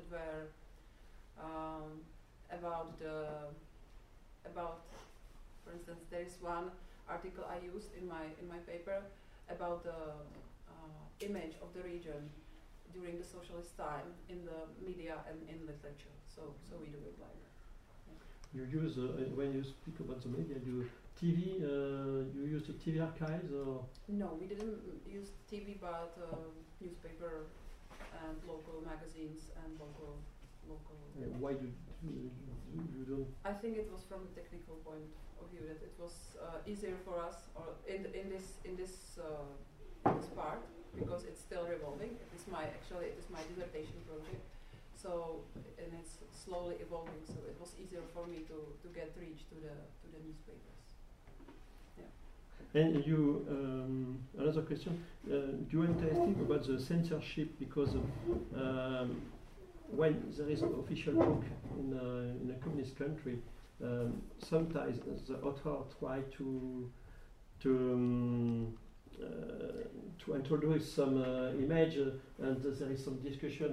for instance, there is one article I used in my paper about the image of the region during the socialist time in the media and in literature. So we do it like that. You use when you speak about the media, you TV. You use the TV archives or? No, we didn't use TV, but newspaper and local magazines and local. Why do you don't? I think it was from the technical point of view that it was easier for us, or in this part, because it's still revolving. It is my dissertation project. So, and it's slowly evolving, so it was easier for me to get reach to the newspapers. Yeah. And you, another question, you are interested about the censorship, because when there is an official book in a communist country, sometimes the author try to introduce some image, and there is some discussion.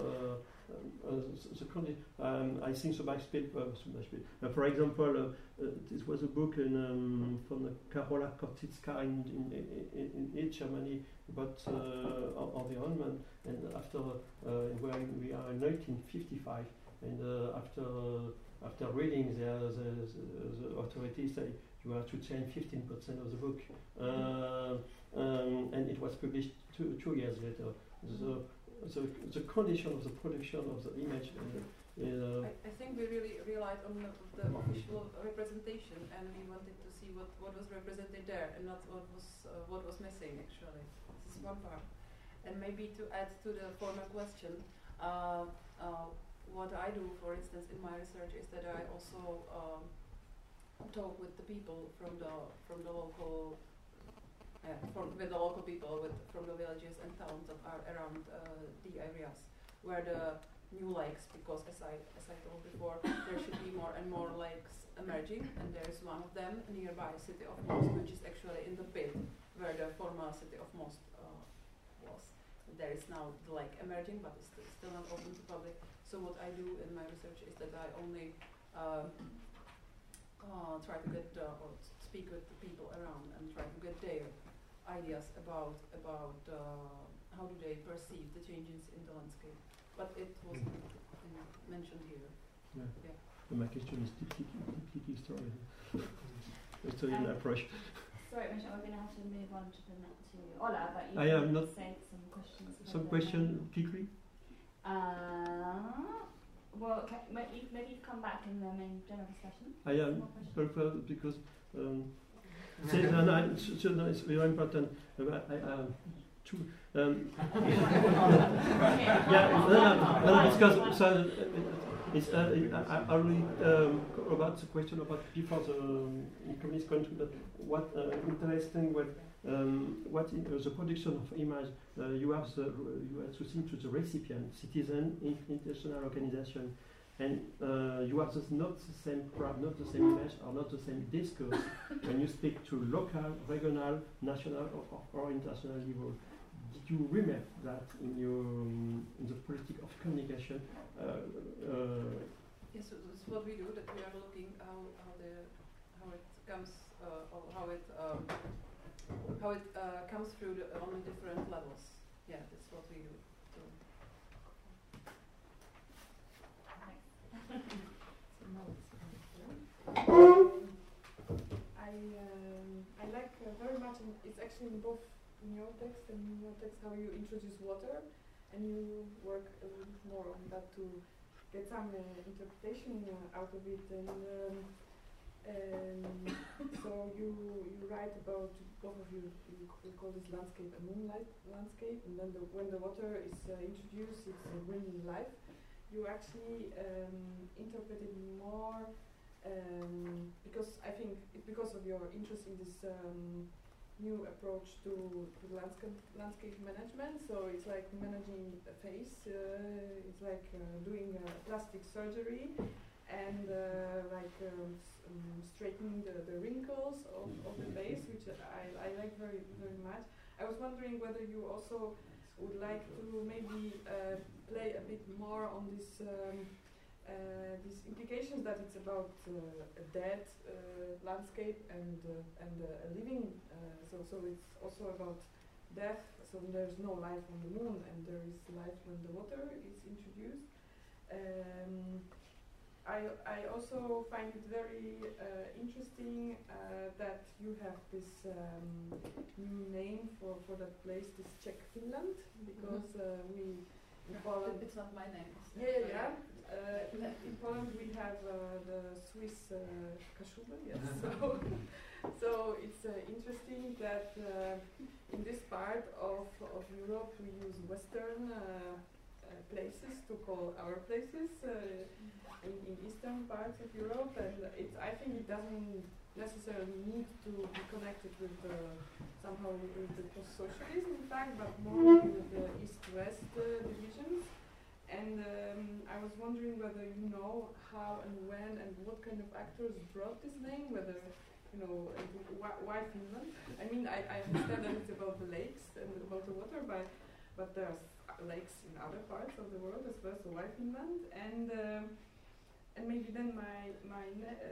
I think so much paper. For example, this was a book from Karola Korczycka in East Germany about environment, and after we are in 1955, and after reading, the authorities say you have to change 15% of the book, and it was published two years later. The condition of the production of the image. I think we really relied on the official representation, and we wanted to see what was represented there, and not what was missing. Actually, this is one part. And maybe to add to the former question, what I do, for instance, in my research is that I also talk with the people from the local. With the local people from the villages and towns that are around the areas where the new lakes, because as I told before, there should be more and more lakes emerging, and there is one of them nearby city of Most, which is actually in the pit where the former city of Most was. There is now the lake emerging, but it's still not open to public. So what I do in my research is that I only try to get or speak with the people around and try to get their ideas about how do they perceive the changes in the landscape. But it wasn't mentioned here. Yeah. My question is deeply historian. Historian approach. sorry, Michelle, we're going to have to move on to Ola, but you I am can not say some questions. Some question quickly. Well, maybe come back in the main general discussion. I am prepared because it's very important. Because it's already about the question about before the communist country. But what interesting what in the production of image you have to think to the recipient, citizen, international organization, and you have not the same crowd, not the same image, or not the same discourse when you speak to local, regional, national, or international level. Did you remember that in the politics of communication? Yes, so that's what we do. That we are looking how it comes or how it comes through on the different levels. Yeah, that's what we do. I like very much. It's actually in both in your text and in your text how you introduce water, and you work a little bit more on that to get some interpretation out of it. And so you write about, both of you call this landscape a moonlight landscape, and then when the water is introduced, it's bringing life. You actually interpret it more because I think it's because of your interest in this new approach to landscape management. So it's like managing a face, it's like doing plastic surgery, and straightening the wrinkles of the face, which I like very, very much. I was wondering whether you also would like to maybe play a bit more on this these implications that it's about a dead landscape and a living. So it's also about death. So there's no life on the moon, and there is life when the water is introduced. I also find it very interesting that you have this new name for that place, this Czech Finland, because we in Poland. It's not my name. Yeah. In Poland we have the Swiss Kaszubę, yes. So it's interesting that in this part of Europe we use Western places to call our places in eastern parts of Europe, and I think it doesn't necessarily need to be connected with somehow with the post-socialism, in fact, but more with the east-west divisions. And I was wondering whether you know how and when and what kind of actors brought this name, whether why Finland? I mean, I understand that it's about the lakes and about the water, but there's lakes in other parts of the world as well. So why Finland? And maybe then my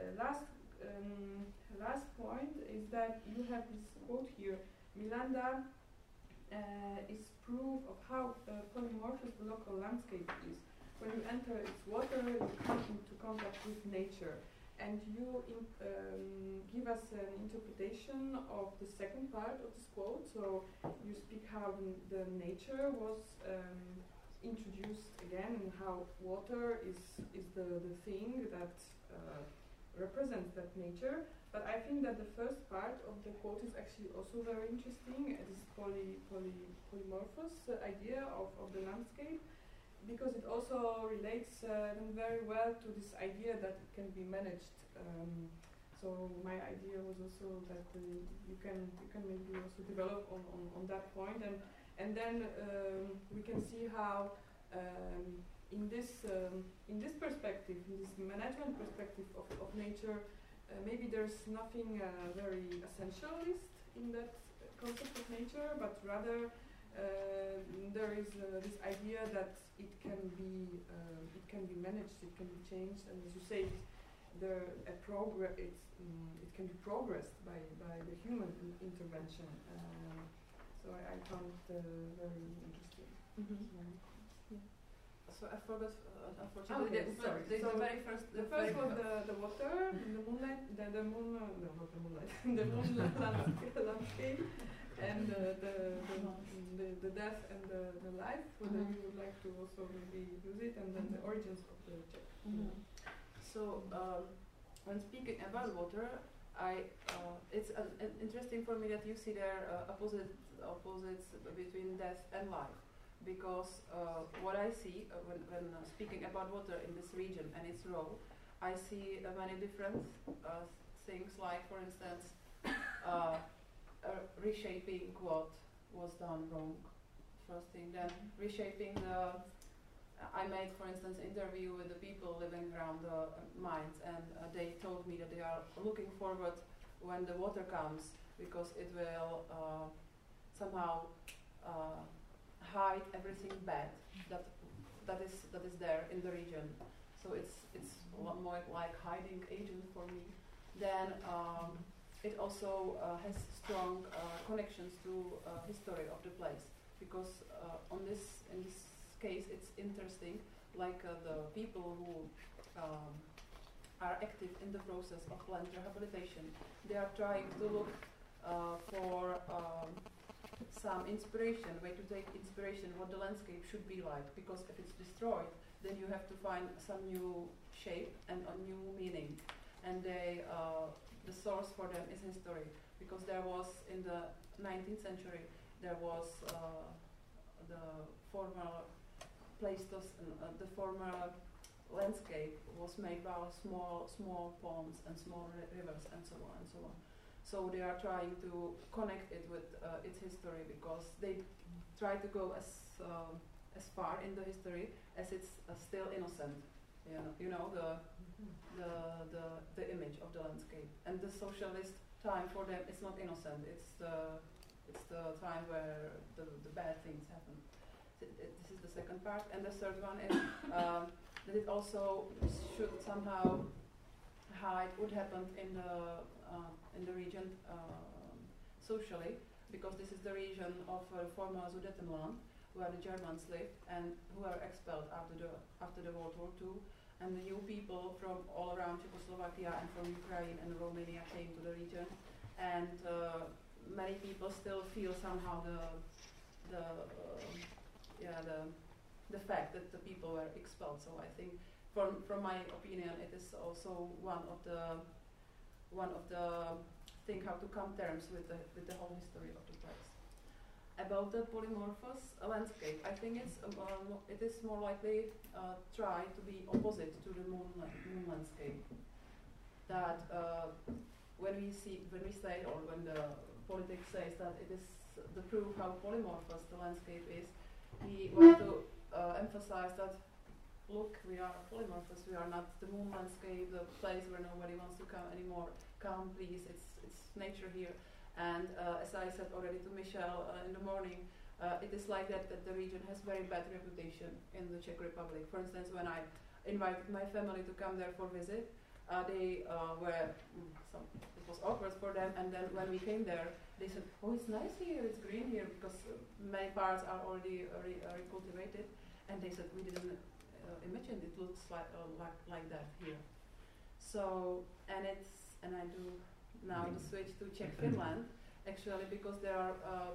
last point is that you have this quote here: Milanda is proof of how polymorphous the local landscape is. When you enter its water, you come into contact with nature. And you give us an interpretation of the second part of this quote. So you speak how the nature was introduced again, and how water is the thing that represents that nature. But I think that the first part of the quote is actually also very interesting. This polymorphous idea of the landscape, because it also relates very well to this idea that it can be managed. So my idea was also that you can maybe also develop on that point, and then we can see how in this perspective, in this management perspective of nature, maybe there's nothing very essentialist in that concept of nature, but rather there is this idea that it can be managed, it can be changed, and as you say, it can be progressed by the human intervention. So I found it very interesting. Mm-hmm. So I forgot. Unfortunately, Okay, sorry. the So very first. The first was the water, the moonlight, the moon. No, not the moonlight. The moonlight landscape, and the death and the life. Whether you would like to also maybe use it, and then the origins of the Czech. So when speaking about water, it's interesting for me that you see there opposites between death and life, because what I see when speaking about water in this region and its role, I see many different things, like for instance reshaping what was done wrong, first thing, then reshaping I made, for instance, an interview with the people living around the mines, and they told me that they are looking forward when the water comes, because it will somehow hide everything bad that is there in the region. So it's a lot more like hiding agent for me. Then it also has strong connections to history of the place, because in this case it's interesting, like the people who are active in the process of land rehabilitation, they are trying to look for some inspiration, way to take inspiration what the landscape should be like, because if it's destroyed, then you have to find some new shape and a new meaning. And they the source for them is history, because there was in the 19th century there was the former the former landscape was made by small ponds and small rivers and so on and so on. So they are trying to connect it with its history, because they try to go as far in the history as it's still innocent. You know the image of the landscape, and the socialist time for them is not innocent. It's the time where the bad things happen. This is the second part, and the third one is that it also should somehow hide what happened in the region socially, because this is the region of former Sudetenland, where the Germans lived and who were expelled after the World War II, and the new people from all around Czechoslovakia and from Ukraine and Romania came to the region, and many people still feel somehow the fact that the people were expelled. So I think, from my opinion, it is also one of the thing how to come terms with the whole history of the place. About the polymorphous landscape, I think it is more likely try to be opposite to the moon landscape. That when we say, or when the politics says that it is the proof how polymorphous the landscape is, we want to emphasize that, look, we are polymorphous. We are not the moon landscape, the place where nobody wants to come anymore. Come, please. It's nature here. And as I said already to Michelle in the morning, it is like that the region has very bad reputation in the Czech Republic. For instance, when I invited my family to come there for visit, they it was awkward for them. And then when we came there, they said, "Oh, it's nice here. It's green here," because many parts are already recultivated. And they said, "We didn't imagine it looks like that here." So and I do now the switch to Czech Finland, actually, because there are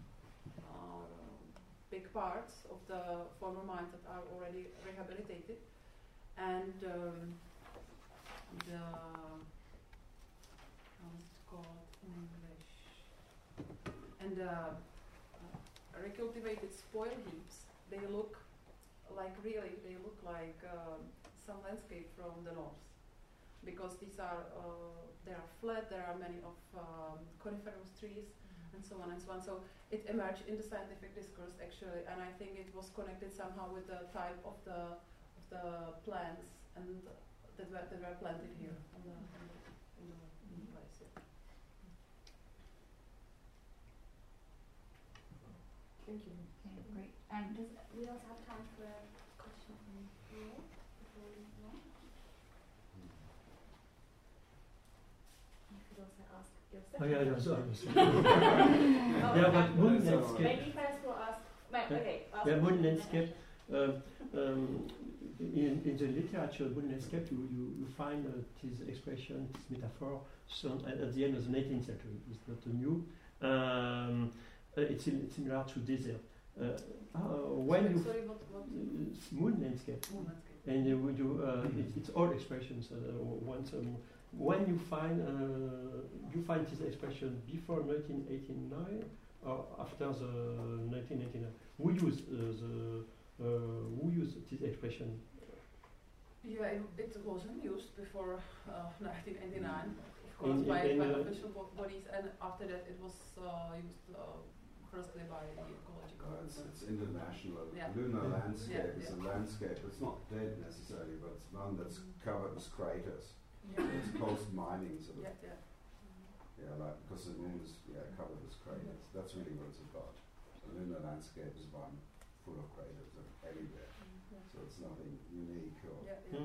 big parts of the former mines that are already rehabilitated, and how is it called in English? And recultivated spoil heaps. They look like some landscape from the north, because these are they are flat. There are many of coniferous trees and so on and so on. So it emerged in the scientific discourse actually, and I think it was connected somehow with the type of the plants and that were planted here in the place. Yeah. Thank you. Okay, great. And we also have time for a question from you before we move on. You could also ask yourself. Oh yeah, so yeah, but moon landscape. Maybe first we'll ask. Okay. Yeah, moon landscape. In the literature, wooden landscape, you find this expression, this metaphor, at the end of the 19th century. It's not new. It's similar to desert. When you moon landscape, and it's all expressions. When you find this expression before 1989 or after the 1989, who used this expression? Yeah, it wasn't used before 1989, of course, by official bodies, and after that it was used firstly by the ecological. It's international. Yeah. Lunar landscape is a landscape. It's not dead necessarily, but it's one that's covered with craters. Yeah. It's post-mining sort of. Yeah. Yeah, like because the moon is covered with craters. That's really what it's about. The lunar landscape is one full of craters everywhere. So it's nothing unique or.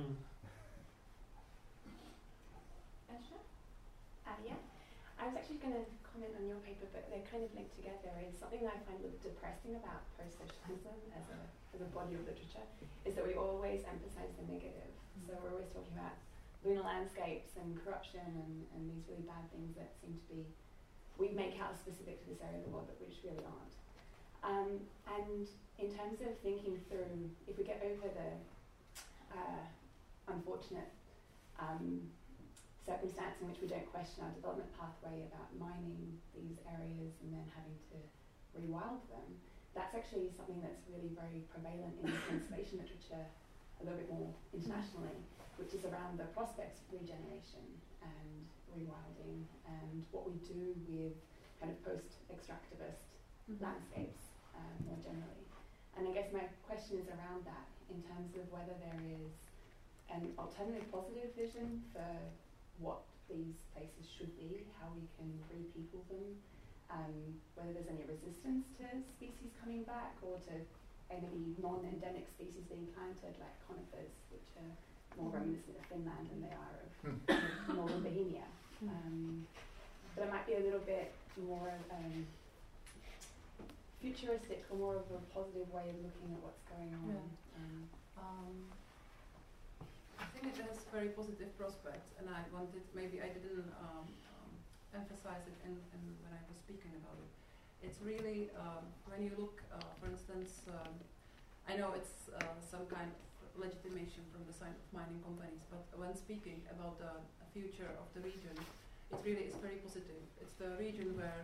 Esha? Yeah. I was actually going to comment on your paper, but they're kind of linked together. Is something that I find a little depressing about post-socialism as a body of literature is that we always emphasize the negative. So we're always talking about lunar landscapes and corruption and these really bad things that seem to be, we make out specific to this area of the world, but which really aren't. And in terms of thinking through, if we get over the unfortunate circumstance in which we don't question our development pathway about mining these areas and then having to rewild them, that's actually something that's really very prevalent in conservation literature a little bit more internationally, which is around the prospects of regeneration and rewilding and what we do with kind of post-extractivist landscapes more generally. And I guess my question is around that in terms of whether there is an alternative positive vision for what these places should be, how we can re-people them, whether there's any resistance to species coming back or to maybe non-endemic species being planted like conifers, which are more reminiscent of Finland than they are of northern Bohemia. But it might be a little bit more futuristic or more of a positive way of looking at what's going on. I think it has very positive prospects, and I wanted, maybe I didn't emphasize it in when I was speaking about it. It's really, when you look, for instance, I know it's some kind of legitimation from the side of mining companies, but when speaking about the future of the region, it really is very positive. It's the region where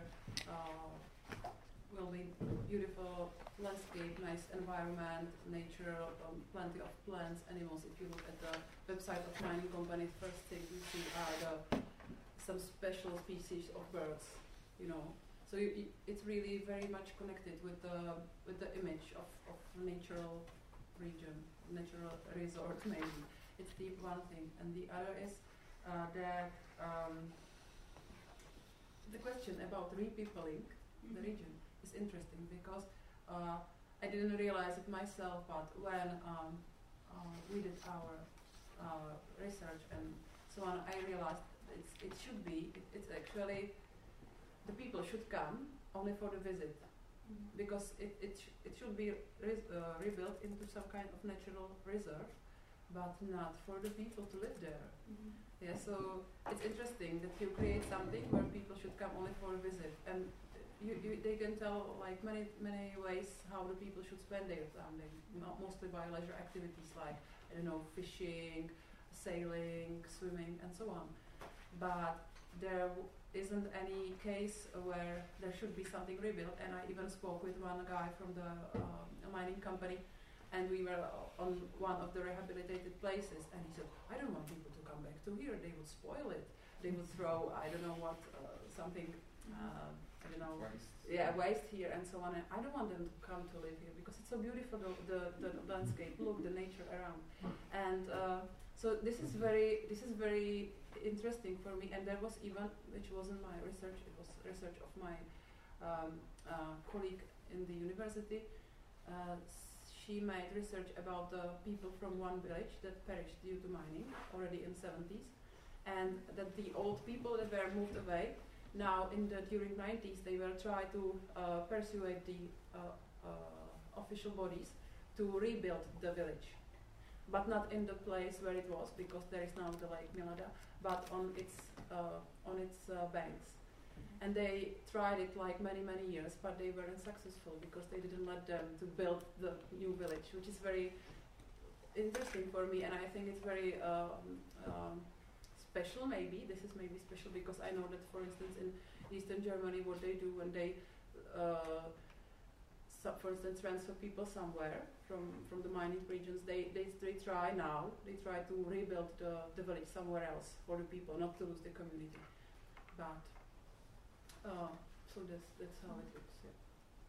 will be beautiful landscape, nice environment, nature, plenty of plants, animals. If you look at the website of mining companies, first thing you see are some special species of birds, you know. So it's really very much connected with the image of natural region, natural resort maybe. It's the one thing, and the other is that the question about repeopling the region is interesting because I didn't realize it myself, but when we did our research and so on, I realized it should be, it's actually, the people should come only for the visit, because it should be rebuilt into some kind of natural reserve, but not for the people to live there. Yeah, so it's interesting that you create something where people should come only for a visit, and they can tell like many ways how the people should spend their time, mostly by leisure activities like, I don't know, fishing, sailing, swimming, and so on. But there isn't any case where there should be something rebuilt, and I even spoke with one guy from the mining company, and we were on one of the rehabilitated places, and he said, I don't want people to come back to here, they would spoil it. They would throw, I don't know what, something, I don't know, waste here and so on. And I don't want them to come to live here because it's so beautiful, the landscape, look, the nature around. And so this is very interesting for me. And there was even, which wasn't my research, it was research of my colleague in the university. She made research about the people from one village that perished due to mining already in the 70s, and that the old people that were moved away, now during 90s they will try to persuade the official bodies to rebuild the village, but not in the place where it was, because there is now the Lake Milada, but on its banks. And they tried it like many years, but they weren't successful because they didn't let them to build the new village, which is very interesting for me, and I think it's very special. Maybe this is maybe special because I know that, for instance, in Eastern Germany, what they do when they, for instance, transfer people somewhere from the mining regions, they try to rebuild the village somewhere else for the people, not to lose the community. But so that's how it looks. Yeah.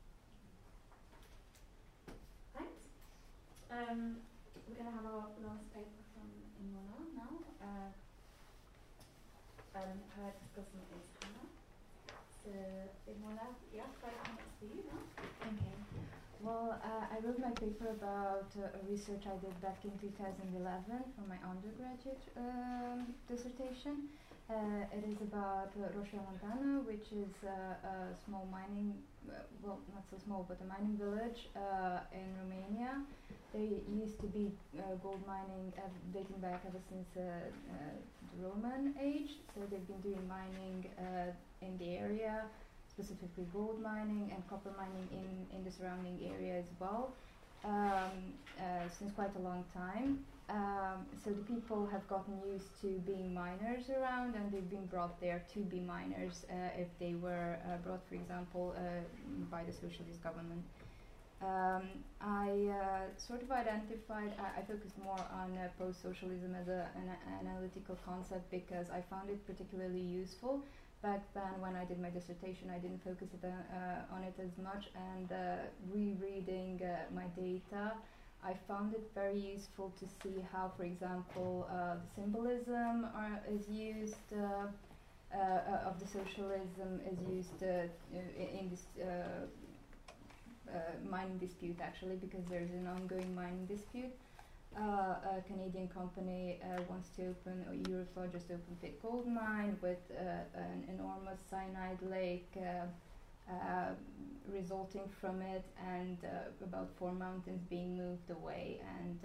Thanks. We're going to have our last paper from Imola now. Her discussion is Hannah. So Imola, yeah, 5 minutes for you now. Okay. Well, I wrote my paper about research I did back in 2011 for my undergraduate dissertation. It is about Roșia Montană, which is a small mining, well, not so small, but a mining village in Romania. There used to be gold mining dating back ever since the Roman age, so they've been doing mining in the area, specifically gold mining and copper mining in the surrounding area as well, since quite a long time. So the people have gotten used to being miners around, and they've been brought there to be miners if they were brought, for example, by the socialist government. I sort of identified, I focused more on post-socialism as an analytical concept because I found it particularly useful. Back then, when I did my dissertation, I didn't focus on it as much, and rereading my data, I found it very useful to see how, for example, the symbolism is used of the socialism is used in this mining dispute, actually, because there's an ongoing mining dispute. A Canadian company wants to open, Euroflor just opened a gold mine with an enormous cyanide lake resulting from it, and about 4 mountains being moved away, and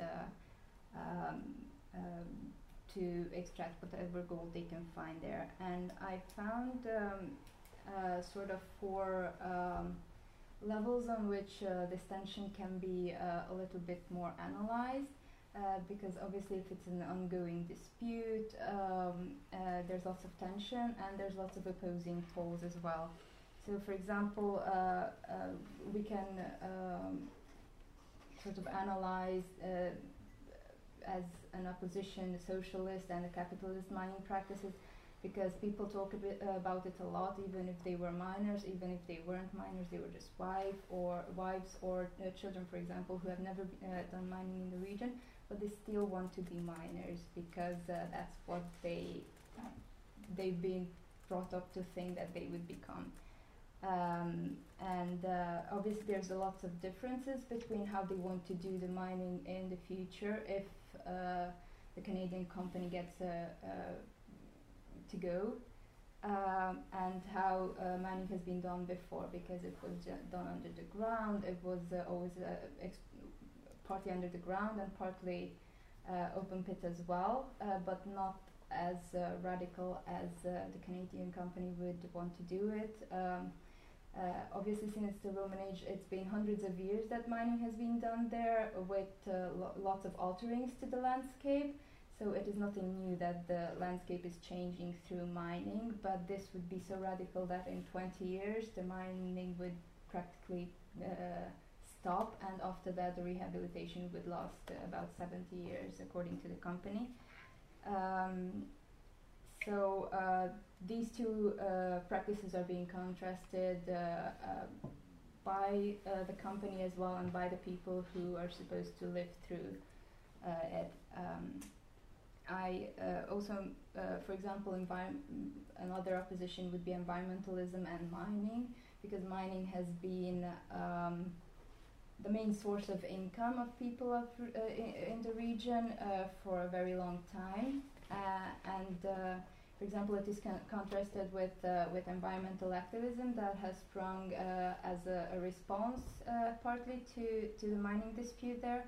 to extract whatever gold they can find there. And I found sort of 4 levels on which this tension can be a little bit more analyzed. Because obviously if it's an ongoing dispute, there's lots of tension and there's lots of opposing poles as well. So for example, we can sort of analyze as an opposition the socialist and the capitalist mining practices, because people talk a bit about it a lot, even if they were miners, even if they weren't miners, they were just wives or children, for example, who have never done mining in the region, but they still want to be miners because that's what they've been brought up to think that they would become. And obviously there's a lot of differences between how they want to do the mining in the future if the Canadian company gets to go, and how mining has been done before, because it was done under the ground. It was always partly under the ground and partly open pit as well, but not as radical as the Canadian company would want to do it. Obviously, since the Roman age, it's been hundreds of years that mining has been done there, with lots of alterings to the landscape. So it is nothing new that the landscape is changing through mining, but this would be so radical that in 20 years the mining would practically stop, and after that the rehabilitation would last about 70 years according to the company. So these two practices are being contrasted by the company as well, and by the people who are supposed to live through it. I also, for example, another opposition would be environmentalism and mining, because mining has been the main source of income of people in the region for a very long time, and for example, it is contrasted with environmental activism that has sprung as a response partly to the mining dispute there,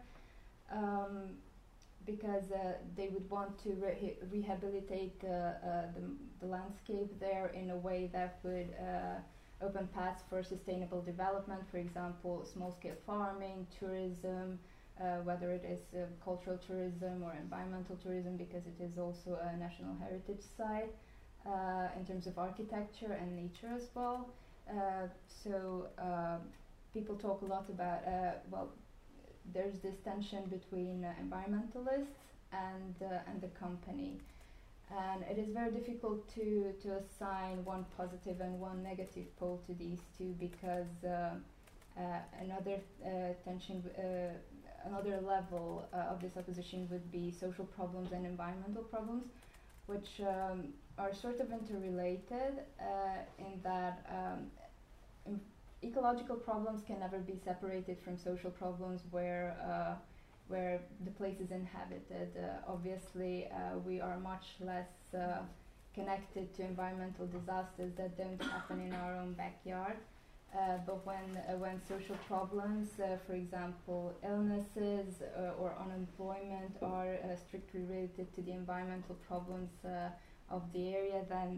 because they would want to rehabilitate the landscape there in a way that would open paths for sustainable development, for example, small-scale farming, tourism, whether it is cultural tourism or environmental tourism, because it is also a national heritage site in terms of architecture and nature as well. So people talk a lot about, well, there's this tension between environmentalists and the company. And it is very difficult to assign one positive and one negative pole to these two, because another tension, another level of this opposition would be social problems and environmental problems, which are sort of interrelated in that ecological problems can never be separated from social problems where the place is inhabited. Obviously, we are much less connected to environmental disasters that don't happen in our own backyard. But when social problems, for example, illnesses or unemployment, are strictly related to the environmental problems of the area, then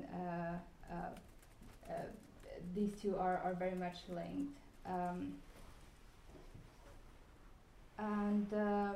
these two are very much linked. And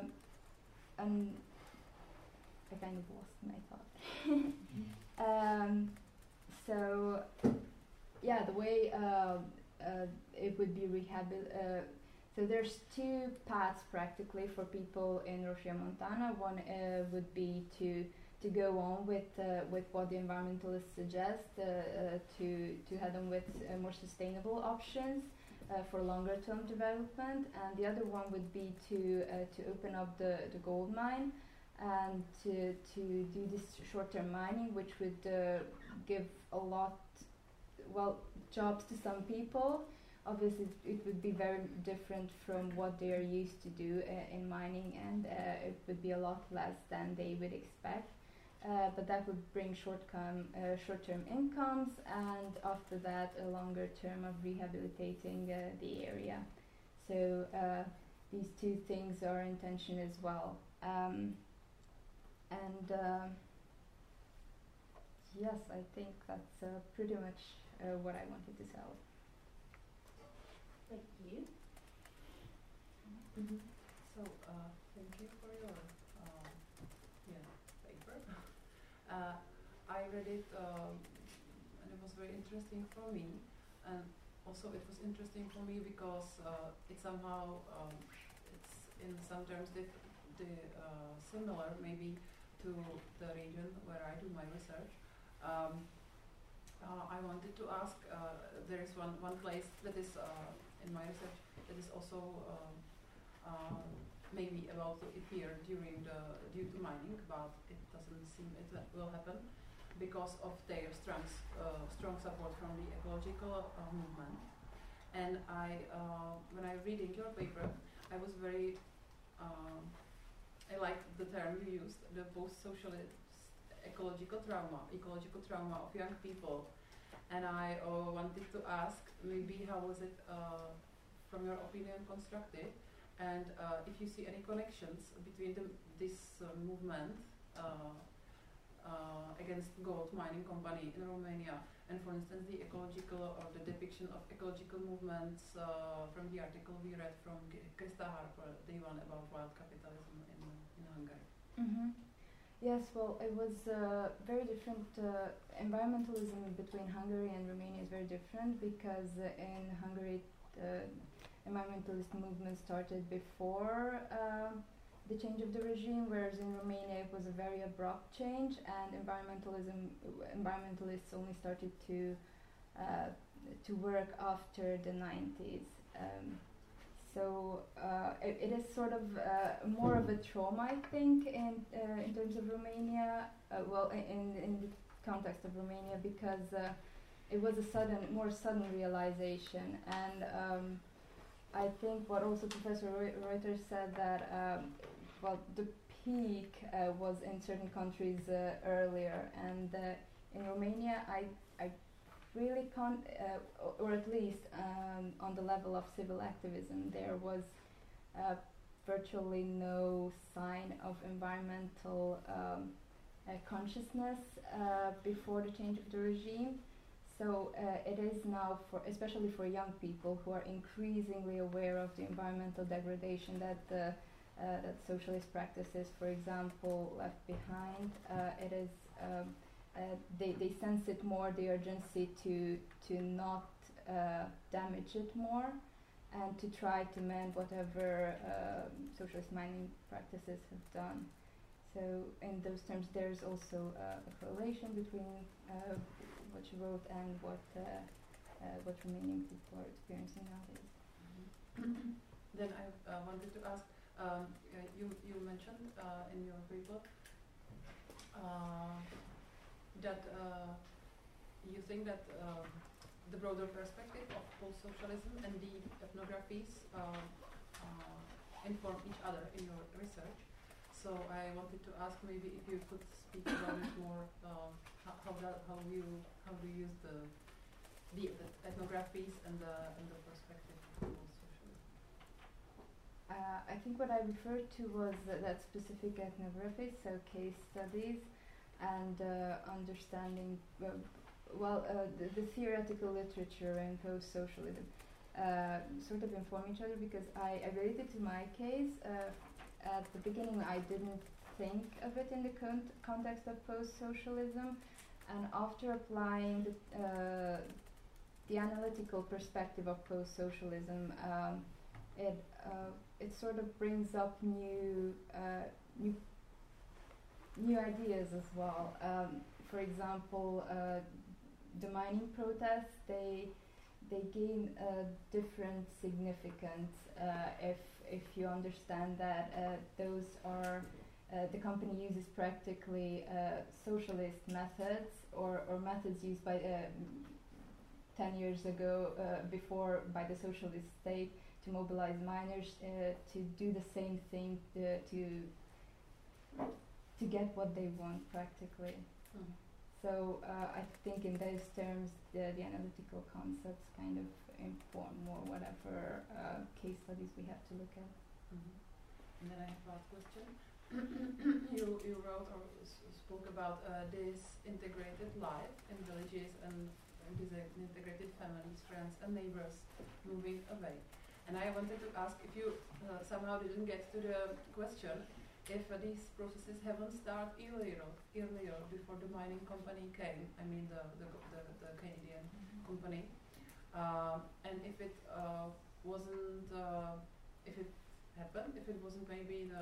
I kind of lost my thought. So yeah, the way it would be rehabilitated. So there's two paths practically for people in Regiomontana. One would be to go on with what the environmentalists suggest, to head on with more sustainable options for longer term development, and the other one would be to open up the gold mine and to do this short term mining, which would give a lot, well, jobs to some people. Obviously it would be very different from what they are used to do in mining, and it would be a lot less than they would expect. But that would bring short-term incomes, and after that a longer term of rehabilitating the area. So these two things are in tension as well. Yes, I think that's pretty much what I wanted to tell. Thank you. Mm-hmm. So thank you for your paper. I read it and it was very interesting for me, and also it was interesting for me because it somehow it's in some terms similar maybe to the region where I do my research. I wanted to ask, there is one place that is in my research that is also maybe about to appear due to mining, but it doesn't seem it will happen because of their strong support from the ecological movement. And when I reading your paper, I was very I like the term you used, the post-socialist ecological trauma of young people. And I wanted to ask, maybe how was it, from your opinion, constructed? And if you see any connections between this movement against gold mining company in Romania, and for instance the ecological or the depiction of ecological movements from the article we read from Krista Harper, the one about wild capitalism in Hungary. Mm-hmm. Yes, well, it was very different. Environmentalism between Hungary and Romania is very different, because in Hungary environmentalist movement started before the change of the regime, whereas in Romania it was a very abrupt change, and environmentalists only started to work after the 90s. So it is sort of more of a trauma, I think, in terms of Romania. In the context of Romania, because it was a more sudden realization, and I think what also Professor Reuter said, that the peak was in certain countries earlier, and in Romania, I really can't, or at least on the level of civil activism, there was virtually no sign of environmental consciousness before the change of the regime. So it is now, especially for young people who are increasingly aware of the environmental degradation that that socialist practices, for example, left behind. It is they sense it more, the urgency to not damage it more, and to try to mend whatever socialist mining practices have done. So in those terms, there's also a correlation between what you wrote and what Romanian people are experiencing nowadays. Mm-hmm. Then I wanted to ask, you mentioned in your paper that you think that the broader perspective of post-socialism and the ethnographies inform each other in your research. So I wanted to ask maybe if you could speak about it more. How do you use the ethnographies and the perspective of post-socialism? I think what I referred to was that specific ethnographies, so case studies, and understanding. The theoretical literature in post-socialism sort of inform each other, because I related to my case. At the beginning, I didn't think of it in the context of post-socialism, and after applying the analytical perspective of post-socialism, it sort of brings up new ideas as well. For example, the mining protests, they gain a different significance if you understand that those are the company uses practically socialist methods or methods used by 10 years ago before by the socialist state to mobilize miners to do the same thing to get what they want practically. Mm-hmm. So I think in those terms the analytical concepts kind of inform more whatever case studies we have to look at. Mm-hmm. And then I have a question. you wrote or spoke about this integrated life in villages and these integrated families, friends and neighbors moving away. And I wanted to ask if you somehow didn't get to the question if these processes haven't started earlier before the mining company came. I mean the Canadian company, and if it wasn't, if it happened, if it wasn't maybe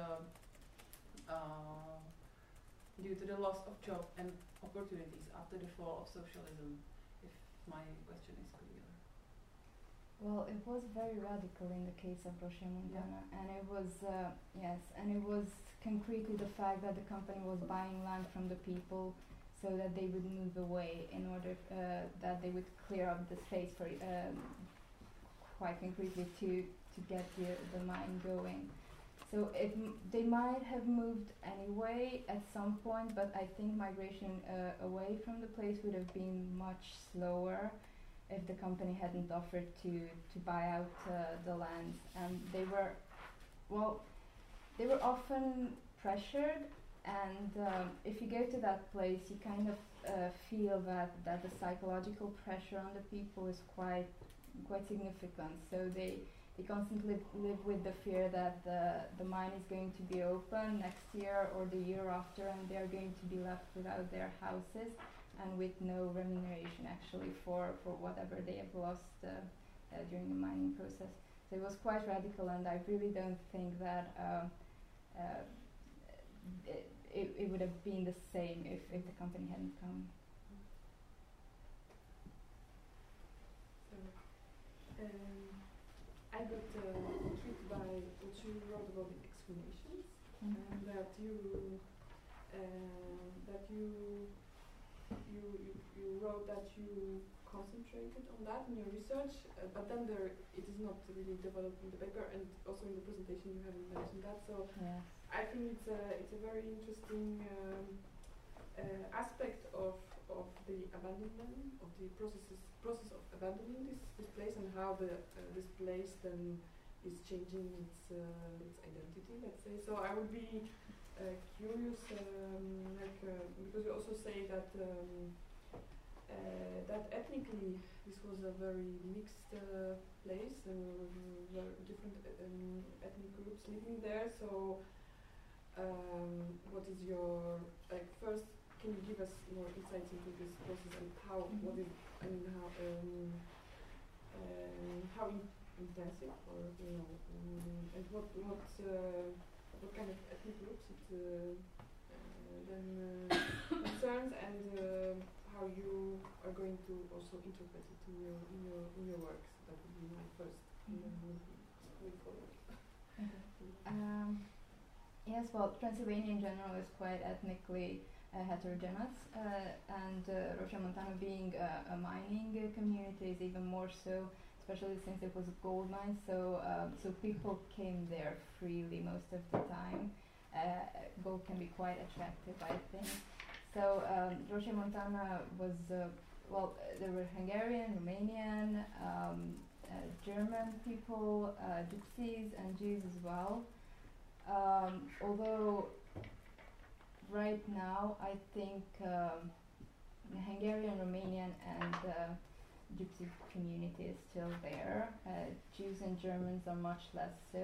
due to the loss of job and opportunities after the fall of socialism. If my question is clear. Well, it was very radical in the case of Regiomontana, and it was and it was concretely the fact that the company was buying land from the people so that they would move away in order that they would clear up the space for quite concretely to get the mine going. So they might have moved anyway at some point, but I think migration away from the place would have been much slower if the company hadn't offered to buy out the lands. And they were often pressured, and if you go to that place, you kind of feel that the psychological pressure on the people is quite significant. So they constantly live with the fear that the mine is going to be open next year or the year after, and they're going to be left without their houses and with no remuneration actually for whatever they have lost during the mining process. So it was quite radical, and I really don't think that it would have been the same if the company hadn't come. So, I got intrigued by what you wrote about the explanations, and that you wrote that you concentrated on that in your research, but then it is not really developed in the paper, and also in the presentation you haven't mentioned that. So I think it's a very interesting aspect of the abandonment, of the process of abandoning this place, and how this place then is changing its identity, let's say. So I would be curious, because you also say that that ethnically this was a very mixed place, and very different ethnic groups living there. So what is your first? Can you give us more insights into this process and how? What is? I mean, how intensive, or and what kind of ethnic groups it then concerns, and how you are going to also interpret it in your works. That would be my first. And then we'll forward. Yes, well, Transylvania in general is quite ethnically heterogeneous, and Regiomontana being a mining community is even more so, especially since it was a gold mine. So people came there freely most of the time. Gold can be quite attractive, I think. So Regiomontana was there were Hungarian, Romanian, German people, Gypsies, and Jews as well. Although right now I think the Hungarian, Romanian, and Gypsy community is still there. Jews and Germans are much less so.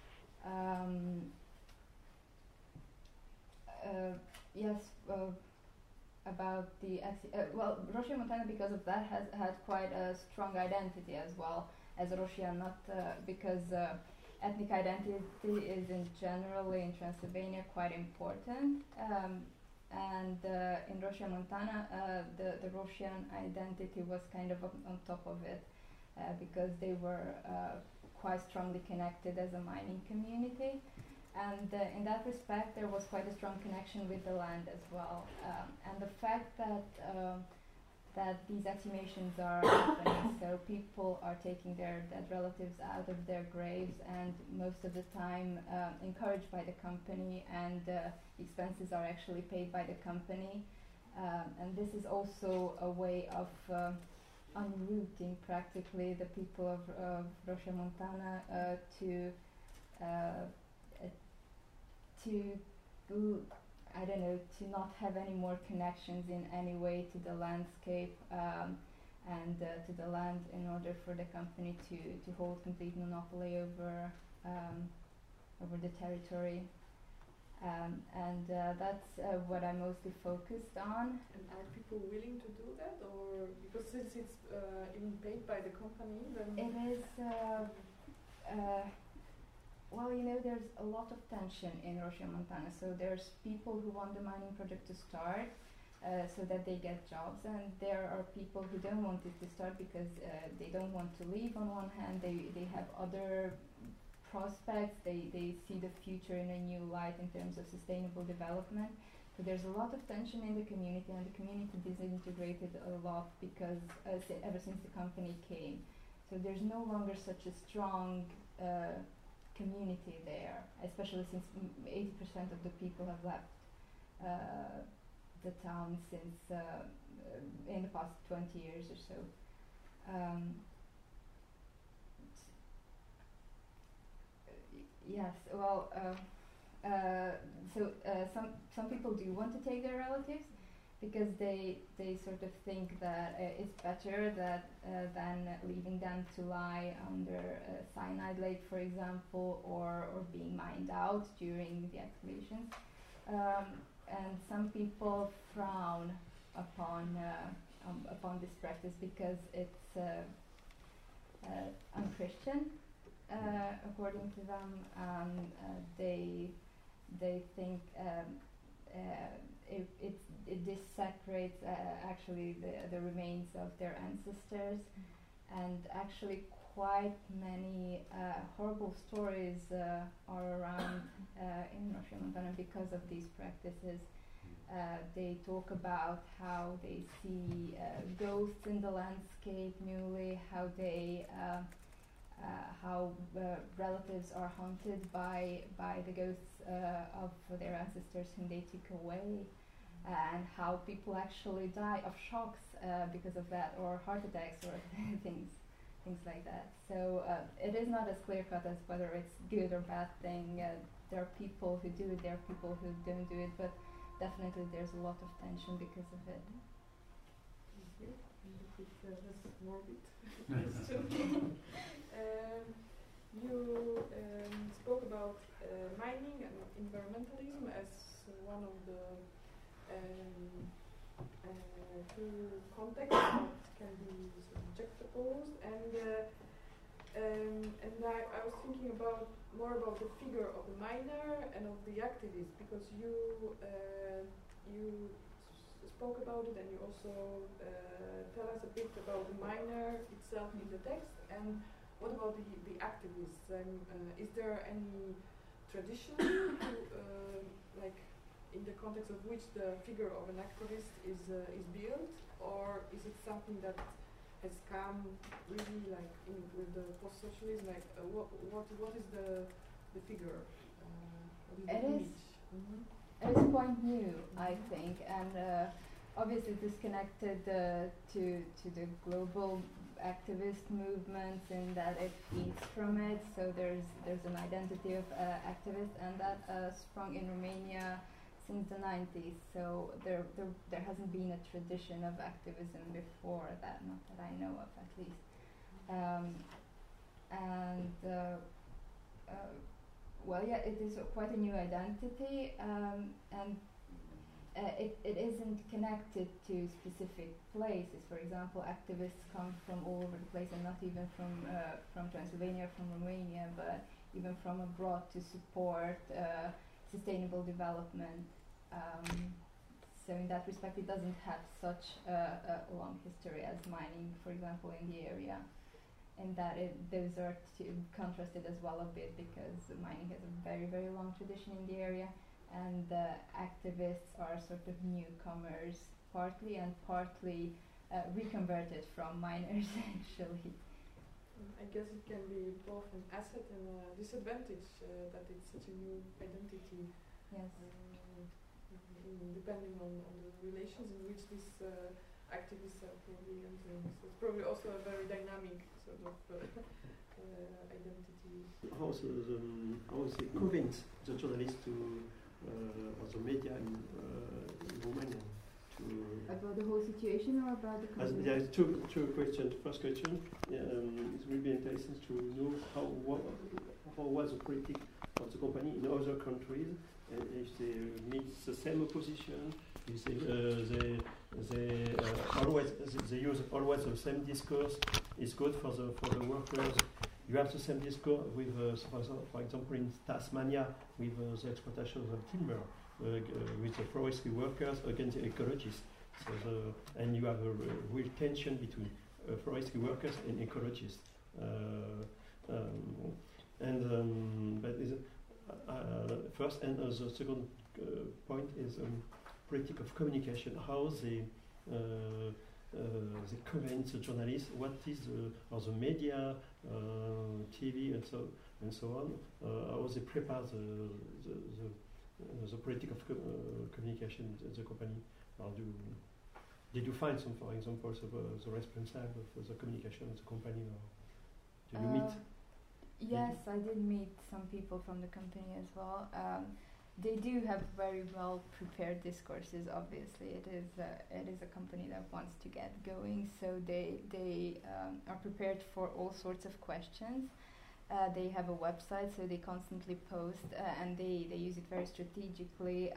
Yes, about the Regiomontana, because of that, has had quite a strong identity as well as Rosia, not because ethnic identity is in Transylvania quite important, and in Regiomontana the Rosian identity was kind of on top of it, because they were quite strongly connected as a mining community, and in that respect there was quite a strong connection with the land as well, and the fact that these exhumations are happening, so people are taking their dead relatives out of their graves, and most of the time encouraged by the company, and expenses are actually paid by the company, and this is also a way of unrooting practically the people of Regiomontana to I don't know, to not have any more connections in any way to the landscape and to the land, in order for the company to hold complete monopoly over the territory. And that's what I mostly focused on. And are people willing to do that, or because since it's even paid by the company, then it is? Well, there's a lot of tension in Regiomontana. So there's people who want the mining project to start so that they get jobs, and there are people who don't want it to start because they don't want to leave. On one hand, they have other prospects, they see the future in a new light in terms of sustainable development. So there's a lot of tension in the community, and the community disintegrated a lot because ever since the company came. So there's no longer such a strong community there, especially since 80% of the people have left the town since in the past 20 years or so. Yes, well, some people do want to take their relatives because they sort of think that it's better than leaving them to lie under a cyanide lake, for example, or being mined out during the excavations. And some people frown upon this practice because it's unchristian, according to them. They think it desecrates actually the remains of their ancestors, and actually quite many horrible stories are around in Regiomontana because of these practices. They talk about how they see ghosts in the landscape newly, how they how relatives are haunted by the ghosts of their ancestors whom they took away. and how people actually die of shocks because of that, or heart attacks, or things like that. So it is not as clear cut as whether it's good or bad thing. There are people who do it, there are people who don't do it, but definitely there's a lot of tension because of it. Thank you. That's morbid question. You spoke about mining and environmentalism as one of the two contexts that can be sort of juxtaposed, and I was thinking more about the figure of the miner and of the activist, because you spoke about it, and you also tell us a bit about the miner itself in the text. And what about the activists? Is there any tradition like in the context of which the figure of an activist is built, or is it something that has come really like with the post-socialism? Like what is the figure? What is the image? It is quite new, I think, and obviously disconnected to the global activist movements, in that it feeds from it. So there's an identity of activist, and that sprung in Romania since the 90s. So there hasn't been a tradition of activism before that, not that I know of, at least. Well, yeah, it is quite a new identity, and it isn't connected to specific places. For example, activists come from all over the place, and not even from Transylvania, from Romania, but even from abroad to support sustainable development. So in that respect, it doesn't have such a long history as mining, for example, in the area. And that those are contrasted as well a bit, because mining has a very, very long tradition in the area, and the activists are sort of newcomers, partly, and partly reconverted from miners, actually. I guess it can be both an asset and a disadvantage that it's such a new identity. Yes. Depending on the relations in which these activists are probably entering. So it's probably also a very dynamic sort of identity. How they convince the journalists to, or the media in Romania to... About the whole situation, or about the company? There are two questions. First question, it will be interesting to know how was the politics of the company in other countries, if they meet the same opposition, if they use always the same discourse. It's good for the workers. You have the same discourse with, for example, in Tasmania, with the exploitation of timber, with the forestry workers against the ecologists. And you have a real tension between forestry workers and ecologists. First, and the second point is politics of communication. How they convince the journalists. What is or the media, TV, and so on. How they prepare the politics of communication in the company. Did you find some, for example, the responsible of the communication of the company, or did you meet? Yes, I did meet some people from the company as well. They do have very well prepared discourses. Obviously, it is a company that wants to get going, so they are prepared for all sorts of questions. They have a website, so they constantly post, and they use it very strategically.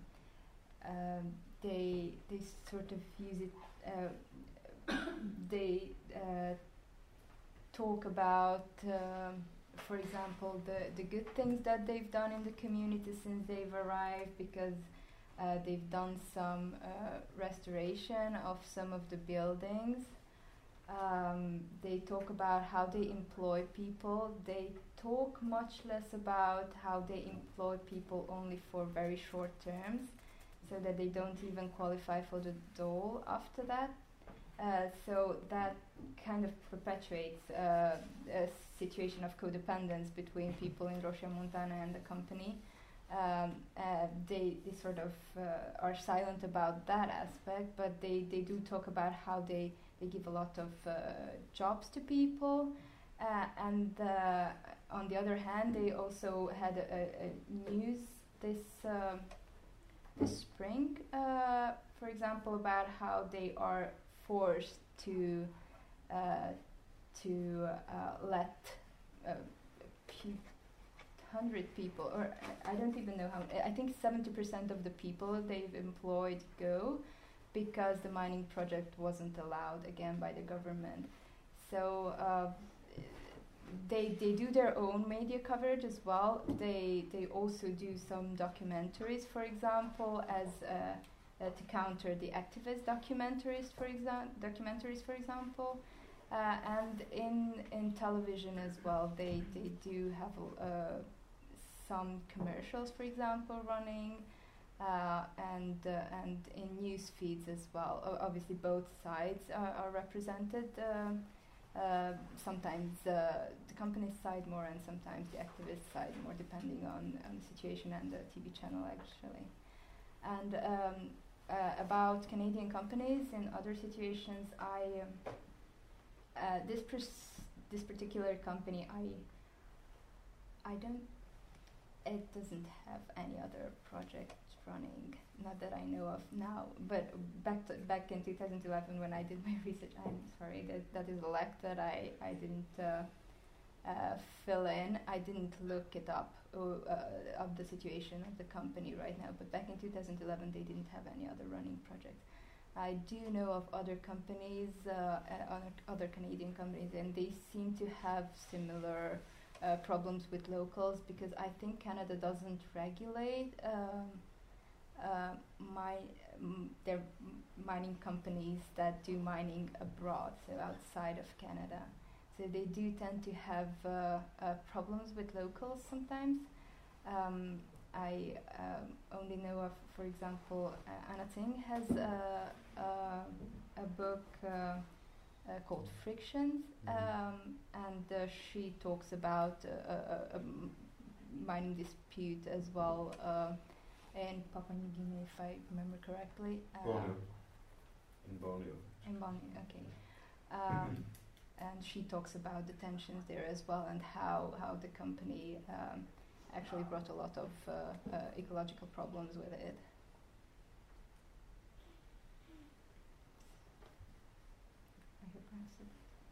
They sort of use it. They talk about, for example, the good things that they've done in the community since they've arrived, because they've done some restoration of some of the buildings. They talk about how they employ people. They talk much less about how they employ people only for very short terms, so that they don't even qualify for the dole after that. So that kind of perpetuates a situation of codependence between people in Roșia Montană and the company. They sort of are silent about that aspect, but they do talk about how they give a lot of jobs to people, and on the other hand, they also had a news this spring, for example, about how they are forced to let 100 people, or I don't even know how, I think 70% of the people they've employed go, because the mining project wasn't allowed again by the government. So they do their own media coverage as well. They also do some documentaries, for example, as to counter the activist documentaries, for example. And in television as well, they do have some commercials, for example, running, and in news feeds as well. Obviously, both sides are represented. Sometimes the company's side more, and sometimes the activist side more, depending on the situation and the TV channel, actually. And about Canadian companies in other situations, this particular company, it doesn't have any other project running, not that I know of now. But back in 2011, when I did my research, I'm sorry, that is a lack that I didn't fill in. I didn't look it up of the situation of the company right now. But back in 2011, they didn't have any other running project. I do know of other companies, other Canadian companies, and they seem to have similar problems with locals, because I think Canada doesn't regulate their mining companies that do mining abroad, so outside of Canada. So they do tend to have problems with locals sometimes. I only know of, for example, Anna Tsing has a book called Frictions, and she talks about a mining dispute as well in Papua New Guinea, if I remember correctly. In Borneo. In Borneo, okay. And she talks about the tensions there as well, and how the company actually brought a lot of ecological problems with it. I hope I answered.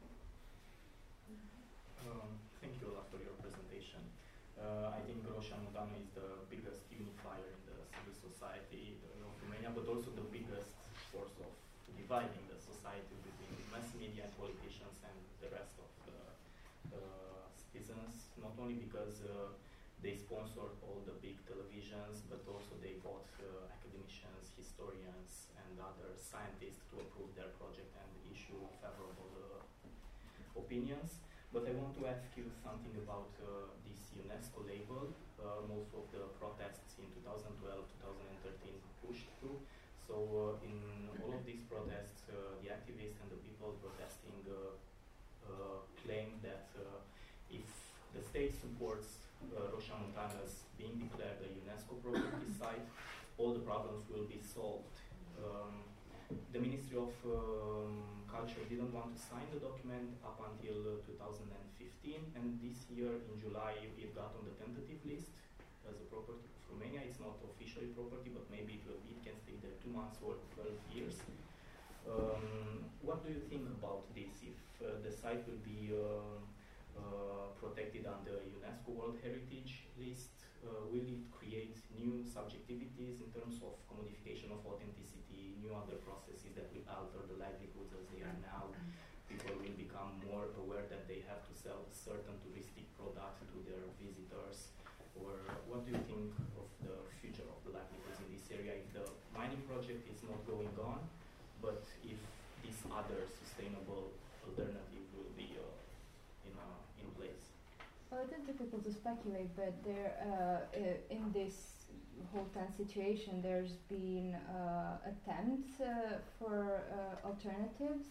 Thank you a lot for your presentation. I think Roșia Montană is the biggest unifier in the civil society of Romania, but also the biggest source of dividing the society between mass media and politicians and the rest of the citizens, not only because they sponsor all the big televisions, but also they bought academicians, historians, and other scientists to approve their project and issue favorable opinions. But I want to ask you something about this UNESCO label. Most of the protests in 2012, 2013 pushed through. So in all of these protests, the activists and the people protesting claim that if the state supports Roșia Montană's being declared a UNESCO property site, all the problems will be solved. The Ministry of Culture didn't want to sign the document up until 2015, and this year in July it got on the tentative list as a property of Romania. It's not officially property, but maybe it will be. It can stay there 2 months or 12 years. What do you think about this? If the site will be protected under UNESCO World Heritage List, will it create new subjectivities in terms of commodification of authenticity, new other processes that will alter the livelihoods as they are now? People will become more aware that they have to sell a certain touristic product to their visitors. Or what do you think of the future of the livelihoods in this area if the mining project is not going on, but if this other sustainable alternative will be in place? Well, it is difficult to speculate, but there, in this whole tense situation, there's been attempts for alternatives.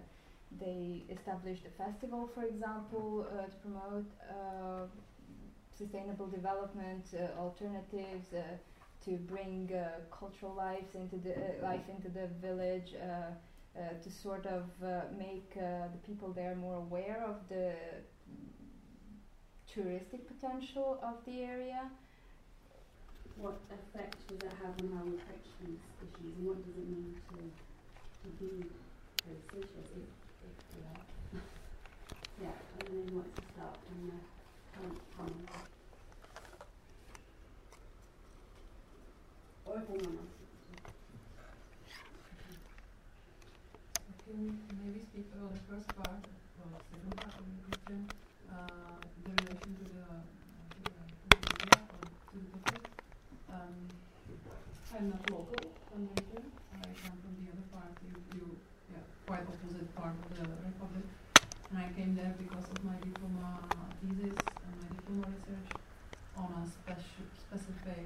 They established a festival, for example, to promote sustainable development alternatives, to bring cultural life into the village, to sort of make the people there more aware of the touristic potential of the area. What effect does that have on how we approach these issues, and what does it mean to be pro-socialist if we are? Yeah, and then what's the start on the current comment? Or if anyone else. Can maybe speak about the first part, or the second part of the question, the relation to the media or to the topic. I'm not local from the region. I come from the other part, quite opposite part of the Republic. And I came there because of my diploma thesis and my diploma research on a specific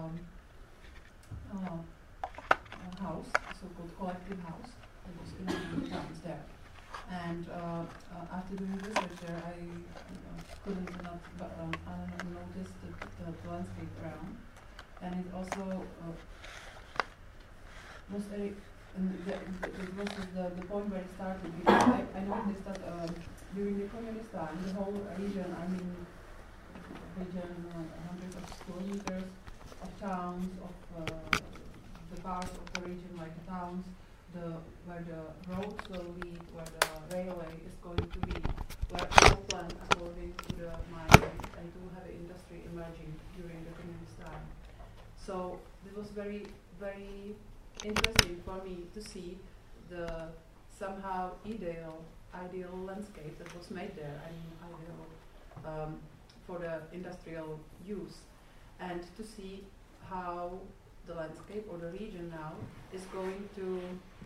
house, so-called collective house. It was in the towns there. And after doing research there, I couldn't not notice the landscape around. And it also was the point where it started, because I noticed that during the communist time, the whole region, hundreds of square meters of towns, of the parts of the region like the towns, where the roads will lead, where the railway is going to be, where all planned according to the mining and to have industry emerging during the communist time. So it was very, very interesting for me to see the somehow ideal landscape that was made there. Ideal for the industrial use, and to see how the landscape or the region now is going to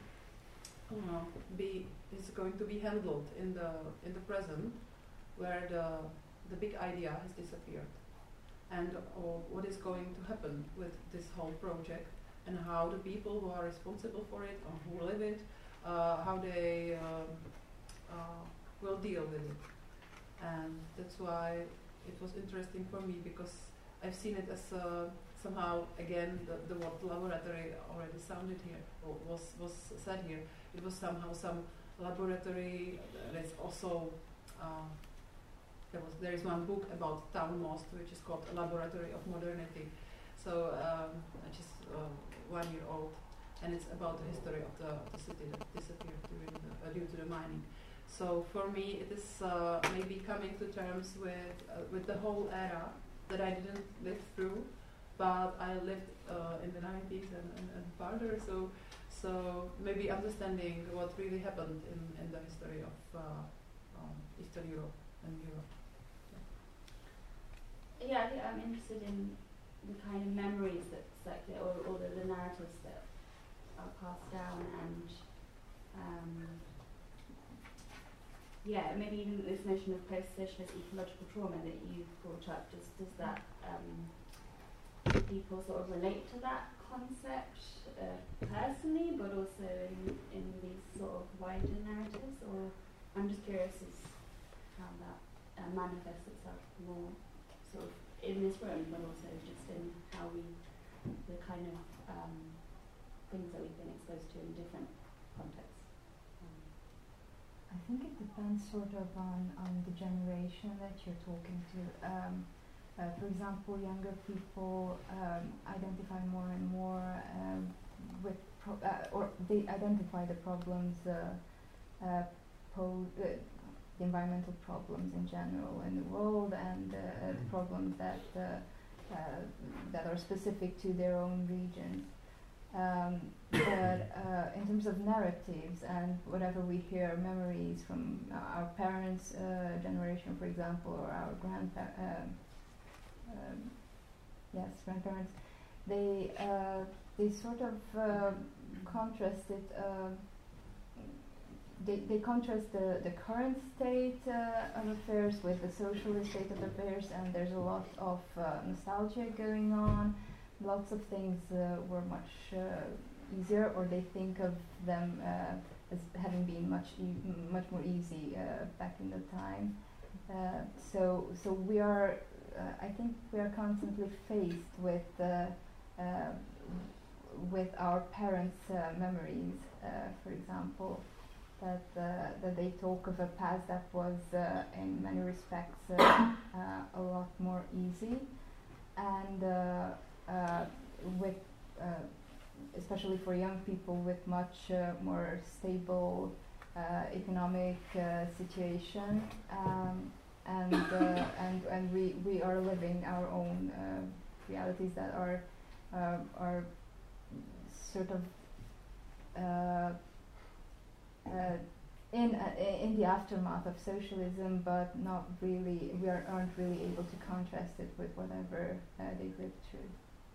be handled in the present, where the big idea has disappeared, and what is going to happen with this whole project, and how the people who are responsible for it or who live it, how they will deal with it. And that's why it was interesting for me, because I've seen it as somehow, again, the word laboratory already sounded here, or was said here. It was somehow some laboratory. There's also there is one book about Town Most, which is called A Laboratory of Modernity. So which is 1 year old, and it's about the history of the city that disappeared due to the mining. So for me, it is maybe coming to terms with the whole era that I didn't live through, but I lived in the 90s and further. So maybe understanding what really happened in the history of Eastern Europe and Europe. Yeah, I think I'm interested in the kind of memories that circulate, or the narratives that are passed down, and maybe even this notion of post-socialist ecological trauma that you brought up. Does that people sort of relate to that concept personally, but also in these sort of wider narratives? Or I'm just curious as how that manifests itself more sort of in this room, but also just in how the kind of things that we've been exposed to in different contexts. I think it depends sort of on the generation that you're talking to. For example, younger people identify more and more with or they identify the problems, the environmental problems in general in the world, and the problems that are specific to their own regions. But in terms of narratives and whatever we hear, memories from our parents' generation, for example, or our grandparents, they sort of contrast it. They contrast the current state of affairs with the socialist state of affairs, and there's a lot of nostalgia going on. Lots of things were much easier, or they think of them as having been much more easy back in the time. So we are I think we are constantly faced with our parents' memories, for example, that they talk of a past that was in many respects a lot more easy, and with especially for young people with much more stable economic situation, and we are living our own realities that are sort of in the aftermath of socialism, but not really. Aren't really able to contrast it with whatever they've lived through.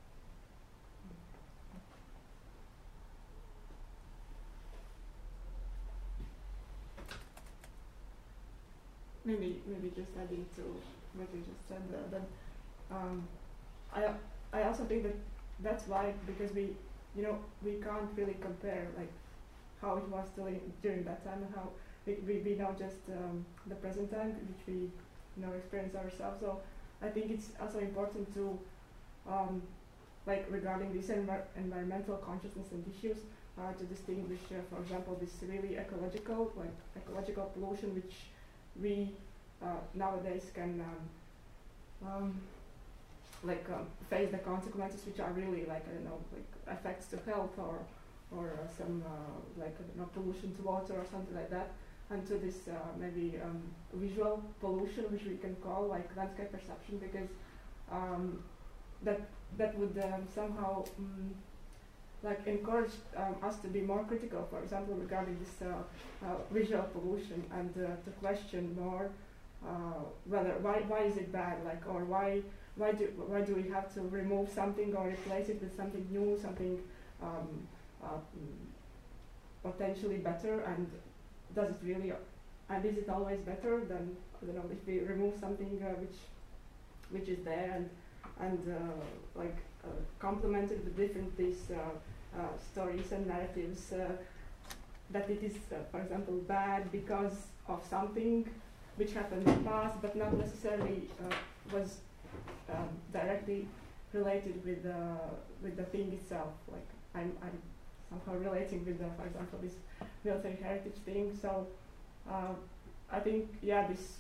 Maybe just adding to what you just said, I also think that that's why, because we can't really compare like how it was during that time and how we know just the present time, which we experience ourselves. So I think it's also important to like regarding these environmental consciousness and issues to distinguish, for example, this really ecological pollution, which we nowadays can face the consequences, which are really like effects to health or some pollution to water or something like that, and to this maybe visual pollution, which we can call like landscape perception, because that would somehow encourage us to be more critical, for example, regarding this visual pollution, and to question more why is it bad, or why do we have to remove something or replace it with something new, something potentially better, and does it really, and is it always better than, I don't know, if we remove something which is there and complemented with different these stories and narratives, that it is, for example, bad because of something which happened in the past, but not necessarily was directly related with the thing itself. Like I'm somehow relating with for example, this military heritage thing. So I think, this.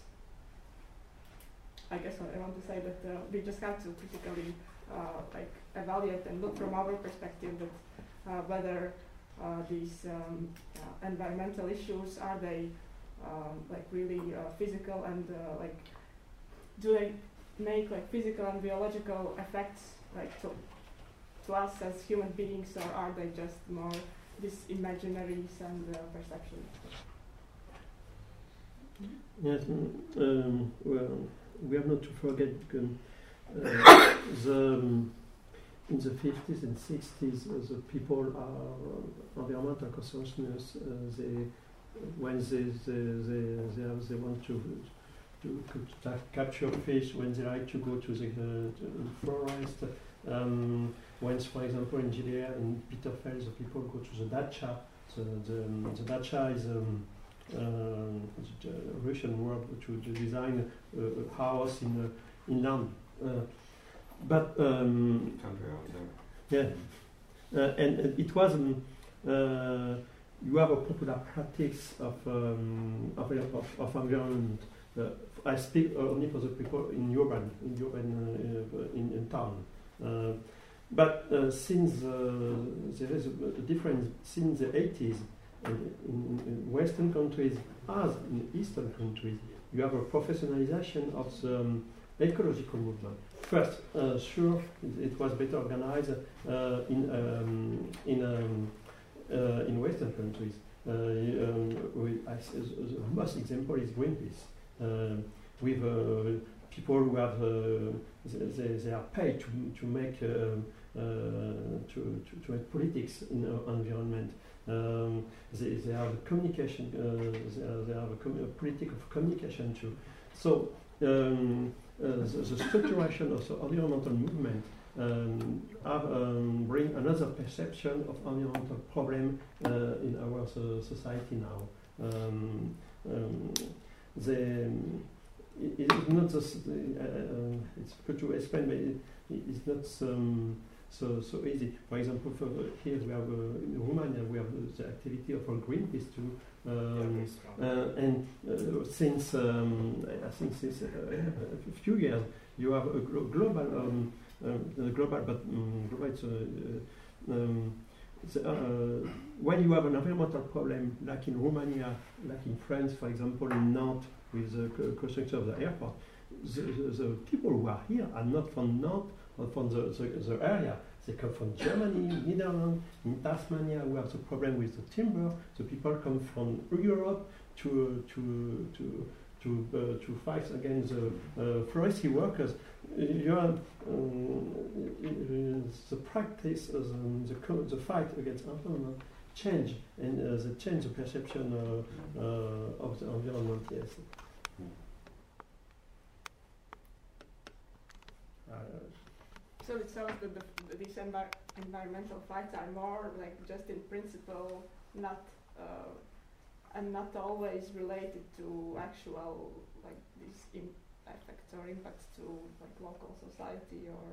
I guess what I want to say, that we just have to critically evaluate and look from our perspective that whether these environmental issues, are they really physical, and do they make physical and biological effects to us as human beings, or are they just more these imaginaries and perceptions? Yes, well, we have not to forget in the 50s and 60s, the people are environmental consciousness. When they want to capture fish, when they like to go to the forest. When, for example, in Judea, in Bitterfeld, the people go to the dacha. The dacha is the Russian word to design a house in land. But yeah, and it was you have a popular practice of environment. I speak only for the people in urban in town. But since there is a difference since the 80s, in Western countries as in Eastern countries, you have a professionalization of the ecological movement. First, sure, it was better organized in Western countries. The most example is Greenpeace, with people who have they are paid to make politics in the environment. They have a communication. They have a politic of communication too. So the structuration of the environmental movement bring another perception of environmental problem in our society now. it's not it's good to explain, but it's not so easy. For example, here we have in Romania we have the activity of Greenpeace too, and since I think since a few years you have a global when you have an environmental problem, like in Romania, like in France, for example, in Nantes, with the construction of the airport, the people who are here are not from Nantes or from the area. They come from Germany, Netherlands, in Tasmania. We have the problem with the timber. The people come from Europe to fight against the forestry workers. The practice, the fight against environment change, and they change the perception of the environment. Yes. So it sounds that these environmental fights are more like just in principle, not and not always related to actual like these effects or impacts to like local society or.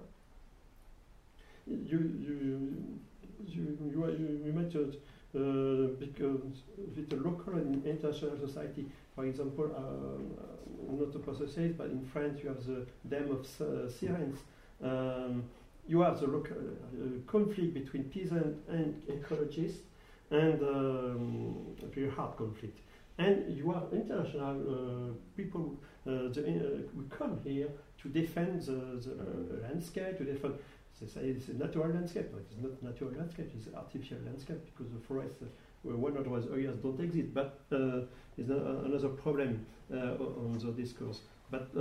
You mentioned because with the local and international society, for example, not to process, but in France you have the Dam of Sirens. You have the local conflict between peasants and ecologists, and a very hard conflict. And you have international people who come here to defend the landscape, to defend. They say it's a natural landscape, but it's not natural landscape, it's an artificial landscape because the forests, one of those areas don't exist. But it's another problem on the discourse. But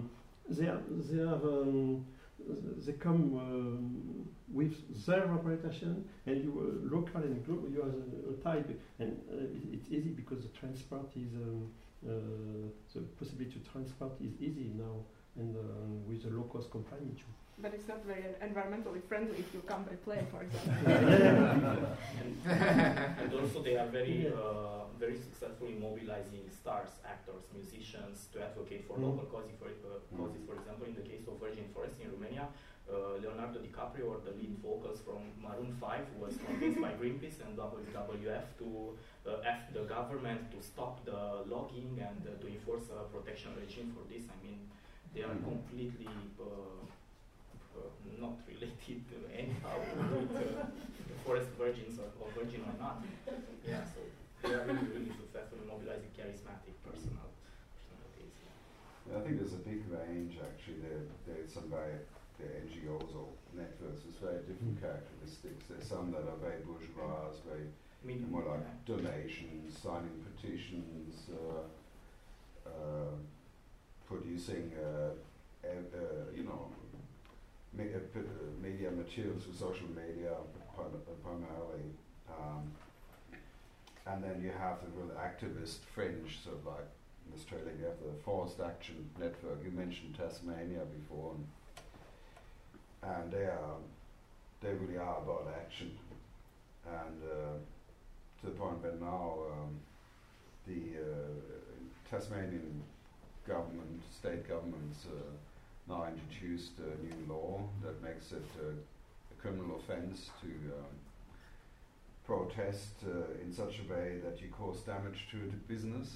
they come with their representation, and you local and global, you are a type, and it's easy because the transport is the possibility to transport is easy now, and with a low-cost company too. But it's not very environmentally friendly if you come by plane, for example. And also they are very very successfully mobilizing stars, actors, musicians to advocate for local causes. For example, in the case of Virgin Forest in Romania, Leonardo DiCaprio, or the lead vocals from Maroon 5, was convinced by Greenpeace and WWF to ask the government to stop the logging and to enforce a protection regime for this. I mean, they are completely not related anyhow with forest virgins or virgin or not. Yeah, so they are really successfully mobilizing charismatic personalities. I think there's a big range actually. There's some very NGOs or networks with very different characteristics. There's some that are very bourgeois, very more like donations, signing petitions, producing media materials for social media primarily, and then you have the real activist fringe. So like in Australia you have the Forest Action Network. You mentioned Tasmania before, and they really are about action, and to the point where now the Tasmanian government, state governments now introduced a new law that makes it a criminal offence to protest in such a way that you cause damage to the business.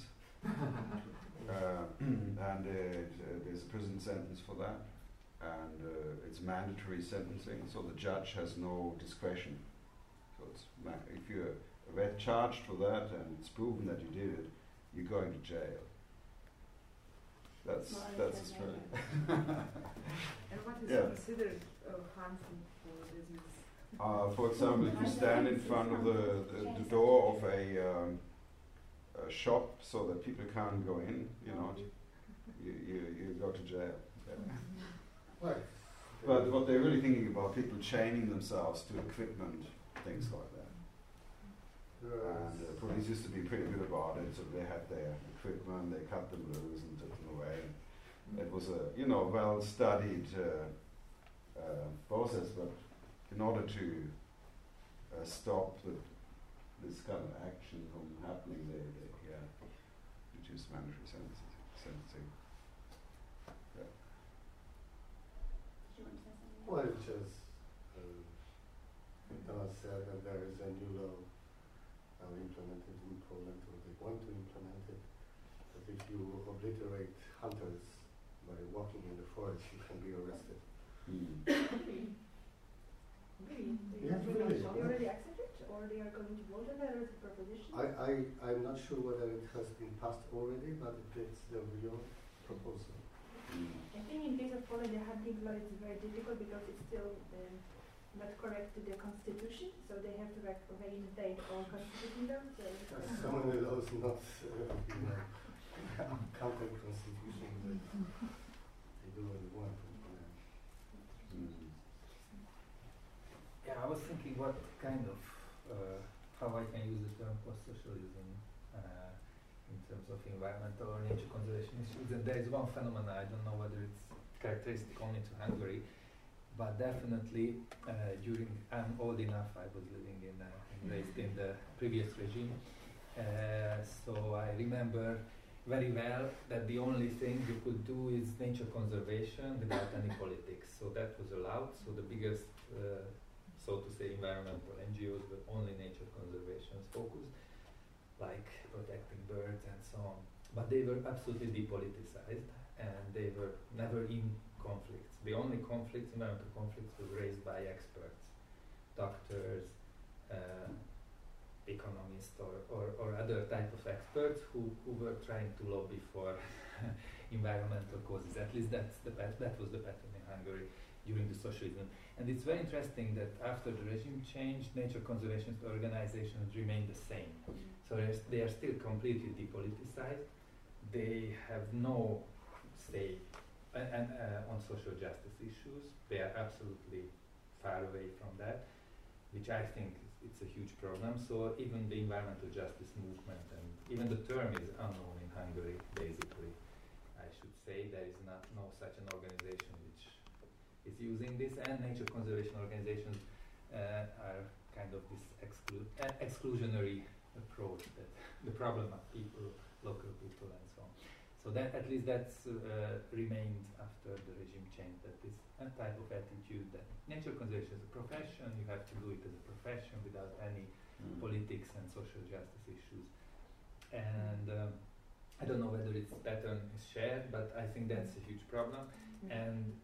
And there's a prison sentence for that, and it's mandatory sentencing, so the judge has no discretion. So it's if you're charged for that and it's proven that you did it, you're going to jail. That's Australia. And what is considered harmful for business? For example, if you stand in front of the door of a shop so that people can't go in, you go to jail. Yeah. Right. But what they're really thinking about, people chaining themselves to equipment, things like that. And police used to be pretty good about it, so they had their equipment, they cut them loose and took them away. It was a well-studied process, but in order to stop this kind of action from happening, they reduced mandatory sentencing. said that there is a new law implemented in Poland, or they want to implement it, that if you obliterate hunters by walking in the forest, you can be arrested. Really? Yes, really. They already accepted, or they are going to vote on it as a proposition? I'm not sure whether it has been passed already, but it's the real proposal. I think in case of Poland, the hunting law is very difficult because it's still not correct to the constitution, so they have to reinstate all constitution laws. So many laws not counter constitution, but they do what they want. Yeah, I was thinking what kind of how I can use the term post-socialism in terms of environmental or nature conservation issues. And there is one phenomenon, I don't know whether it's characteristic only to Hungary, but definitely I'm old enough, I was living raised in the previous regime, so I remember very well that the only thing you could do is nature conservation without any politics. So that was allowed, so the biggest, so to say, environmental NGOs were only nature conservation focused, like protecting birds and so on. But they were absolutely depoliticized, and they were never in conflicts. The only conflicts, environmental conflicts, were raised by experts, doctors, economists, or other type of experts who were trying to lobby for environmental causes. At least that was the pattern in Hungary during the socialism. And it's very interesting that after the regime changed, nature conservation organizations remain the same. So they are still completely depoliticized. They have no say on social justice issues. They are absolutely far away from that, which I think it's a huge problem. So even the environmental justice movement, and even the term is unknown in Hungary, basically. I should say there is no such an organization which is using this, and nature conservation organizations are kind of this exclusionary approach, that the problem of people, local people, and so on. So that at least that's remained after the regime change, that this type of attitude that nature conservation is a profession, you have to do it as a profession without any politics and social justice issues. And I don't know whether its pattern is shared, but I think that's a huge problem. And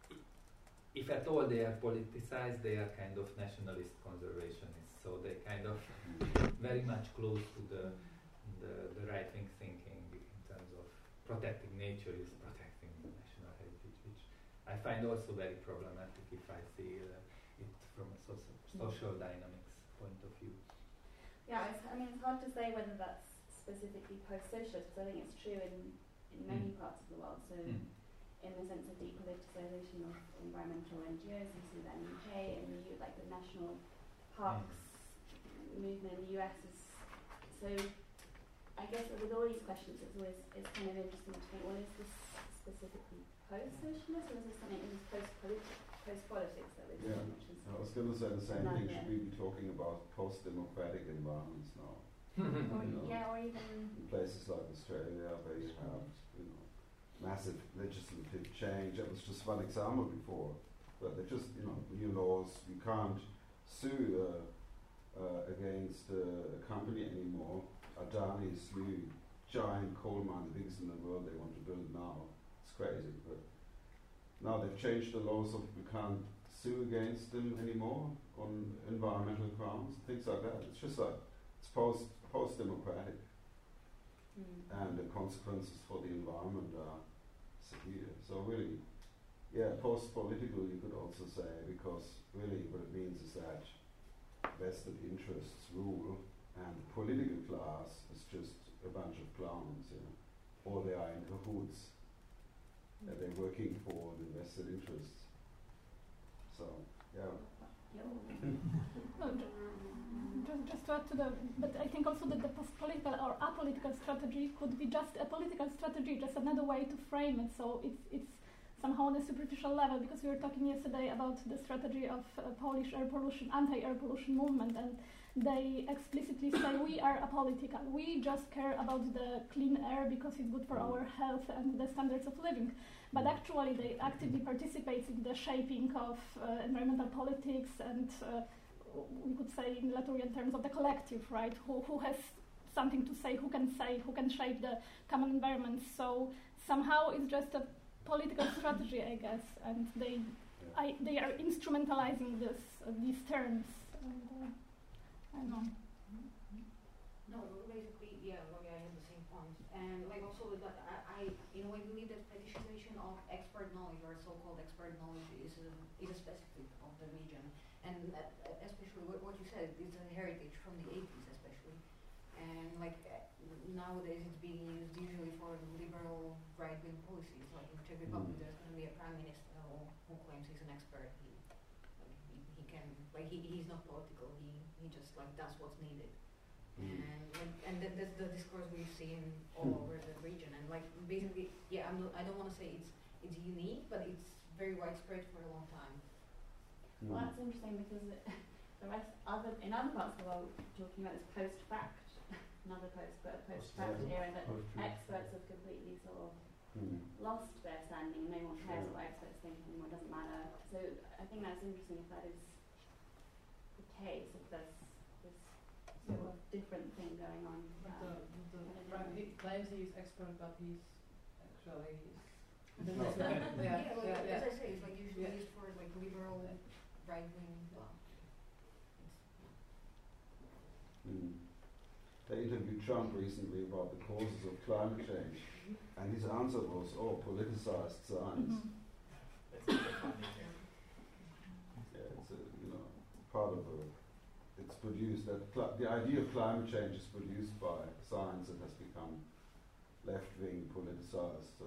if at all they are politicized, they are kind of nationalist conservationists. So they kind of very much close to the right-wing thinking in terms of protecting nature is protecting the national heritage, which I find also very problematic if I see it from a social dynamics point of view. Yeah, it's hard to say whether that's specifically post-socialist, because I think it's true in many parts of the world. So in the sense of depoliticization of environmental NGOs, you see that in the UK, and like the national parks movement in the US is so. I guess with all these questions, it's kind of interesting to think, well, is this specifically post-socialist, or is this something that is post-politics that we're doing? I was going to say the same thing. Should we be talking about post-democratic environments now? Or even in places like Australia, where you have massive legislative change. That was just one example before, but they're just new laws. You can't sue against a company anymore. Adani is new, giant coal mine, the biggest in the world they want to build now. It's crazy, but now they've changed the law so we can't sue against them anymore on environmental grounds, things like that. It's just like, it's post-democratic. And the consequences for the environment are severe. So really, post-political you could also say, because really what it means is that vested interests rule, and the political class is just a bunch of clowns, or they are in cahoots, that they're working for the vested interests. So, just to add to but I think also that the post-political or apolitical strategy could be just a political strategy, just another way to frame it. So it's somehow on a superficial level, because we were talking yesterday about the strategy of Polish air pollution, anti-air pollution movement, and they explicitly say we are apolitical. We just care about the clean air because it's good for our health and the standards of living. But actually they actively participate in the shaping of environmental politics and we could say in Latourian terms of the collective, right? Who has something to say, who can shape the common environment. So somehow it's just a political strategy, I guess, and they are instrumentalizing these terms. And, I don't know. No, basically, yeah, I have the same point. And like also with that, I in a way believe that fetishization of expert knowledge or so-called expert knowledge is a specific of the region. And especially what you said, it's a heritage from the 80s especially. And like nowadays it's being used usually for liberal right-wing policies. Like in Czech Republic there's going to be a prime minister who claims he's an expert. He's not political, he just like does what's needed. And that's the discourse we've seen all over the region. And like basically, yeah, I don't want to say it's unique, but it's very widespread for a long time. Well, that's interesting because in other parts of the world, talking about this post-fact, another post-fact era, that experts have completely sort of lost their standing. No one cares what experts think anymore. It doesn't matter. So I think that's interesting if that is the case. If there's this sort of different thing going on. He claims he's expert, but he's actually. As I say, it's like usually used for like liberal, right-wing. They interviewed Trump recently about the causes of climate change, and his answer was, "Oh, politicized science." It's part of it's produced that the idea of climate change is produced by science that has become left-wing politicized. So,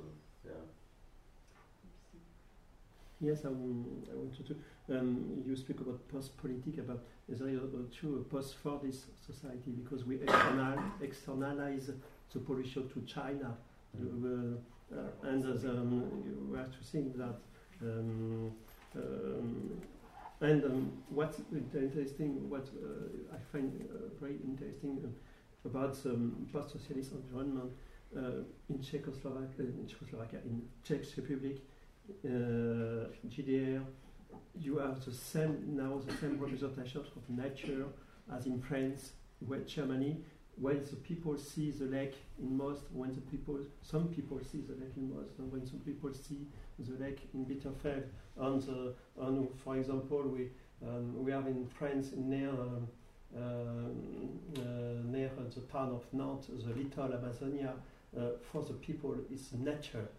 Yes, I wanted to. You speak about post-politic, about is there a post-Fordist society because we externalize the pollution to China, and we have to think that. What's interesting, what I find very interesting about post-socialist environment in Czechoslovakia, in Czech Republic. GDR, you have the same representation of nature as in France, Germany, when the people see the lake in most, some people see the lake in most, and when some people see the lake in Bitterfeld. And for example, we have in France near the town of Nantes, the little Amazonia. For the people, it's nature.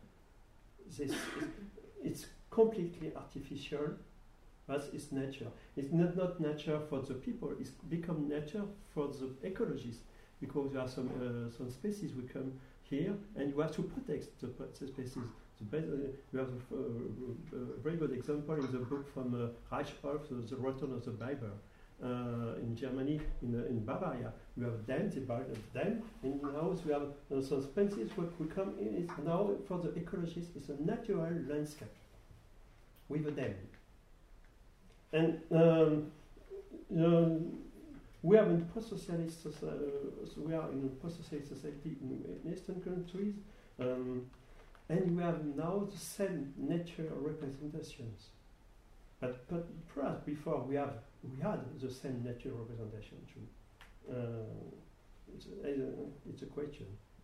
It's completely artificial, but it's nature. It's not nature for the people, it's become nature for the ecologists, because there are some species we come here and you have to protect the species. You have a very good example in the book from Reichholf, The Return of the Bible. In Germany, in Bavaria, we have dams, and now we have some species what we come in. It's now for the ecologists, it's a natural landscape with a dam. And we are in post-socialist society in Eastern countries, and we have now the same nature representations. But perhaps before we had the same nature representation too. It's a question.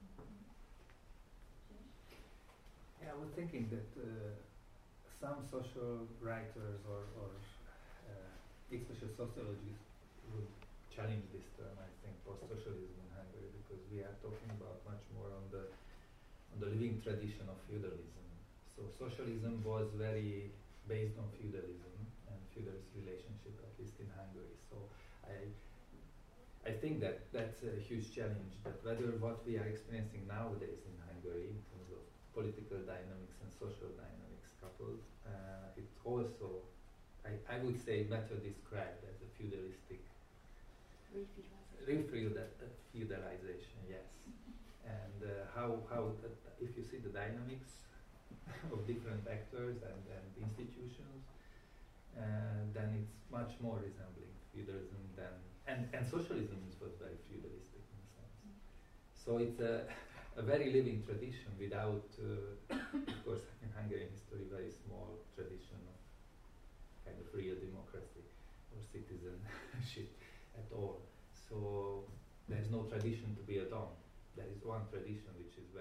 Yeah, I was thinking that some social writers or especially sociologists would challenge this term. I think post-socialism in Hungary, because we are talking about much more on the living tradition of feudalism. So socialism was very based on feudalism and feudalist relationship, at least in Hungary. So I think that that's a huge challenge, that whether what we are experiencing nowadays in Hungary in terms of political dynamics and social dynamics coupled, it's also, I would say, better described as a feudalistic feudalization, yes. And how if you see the dynamics of different actors and institutions, then it's much more resembling feudalism than and socialism was very feudalistic in a sense. So it's a very living tradition without, of course, in Hungarian history, very small tradition of kind of real democracy. or citizenship at all. So there is no tradition to be a Don. There is one tradition which is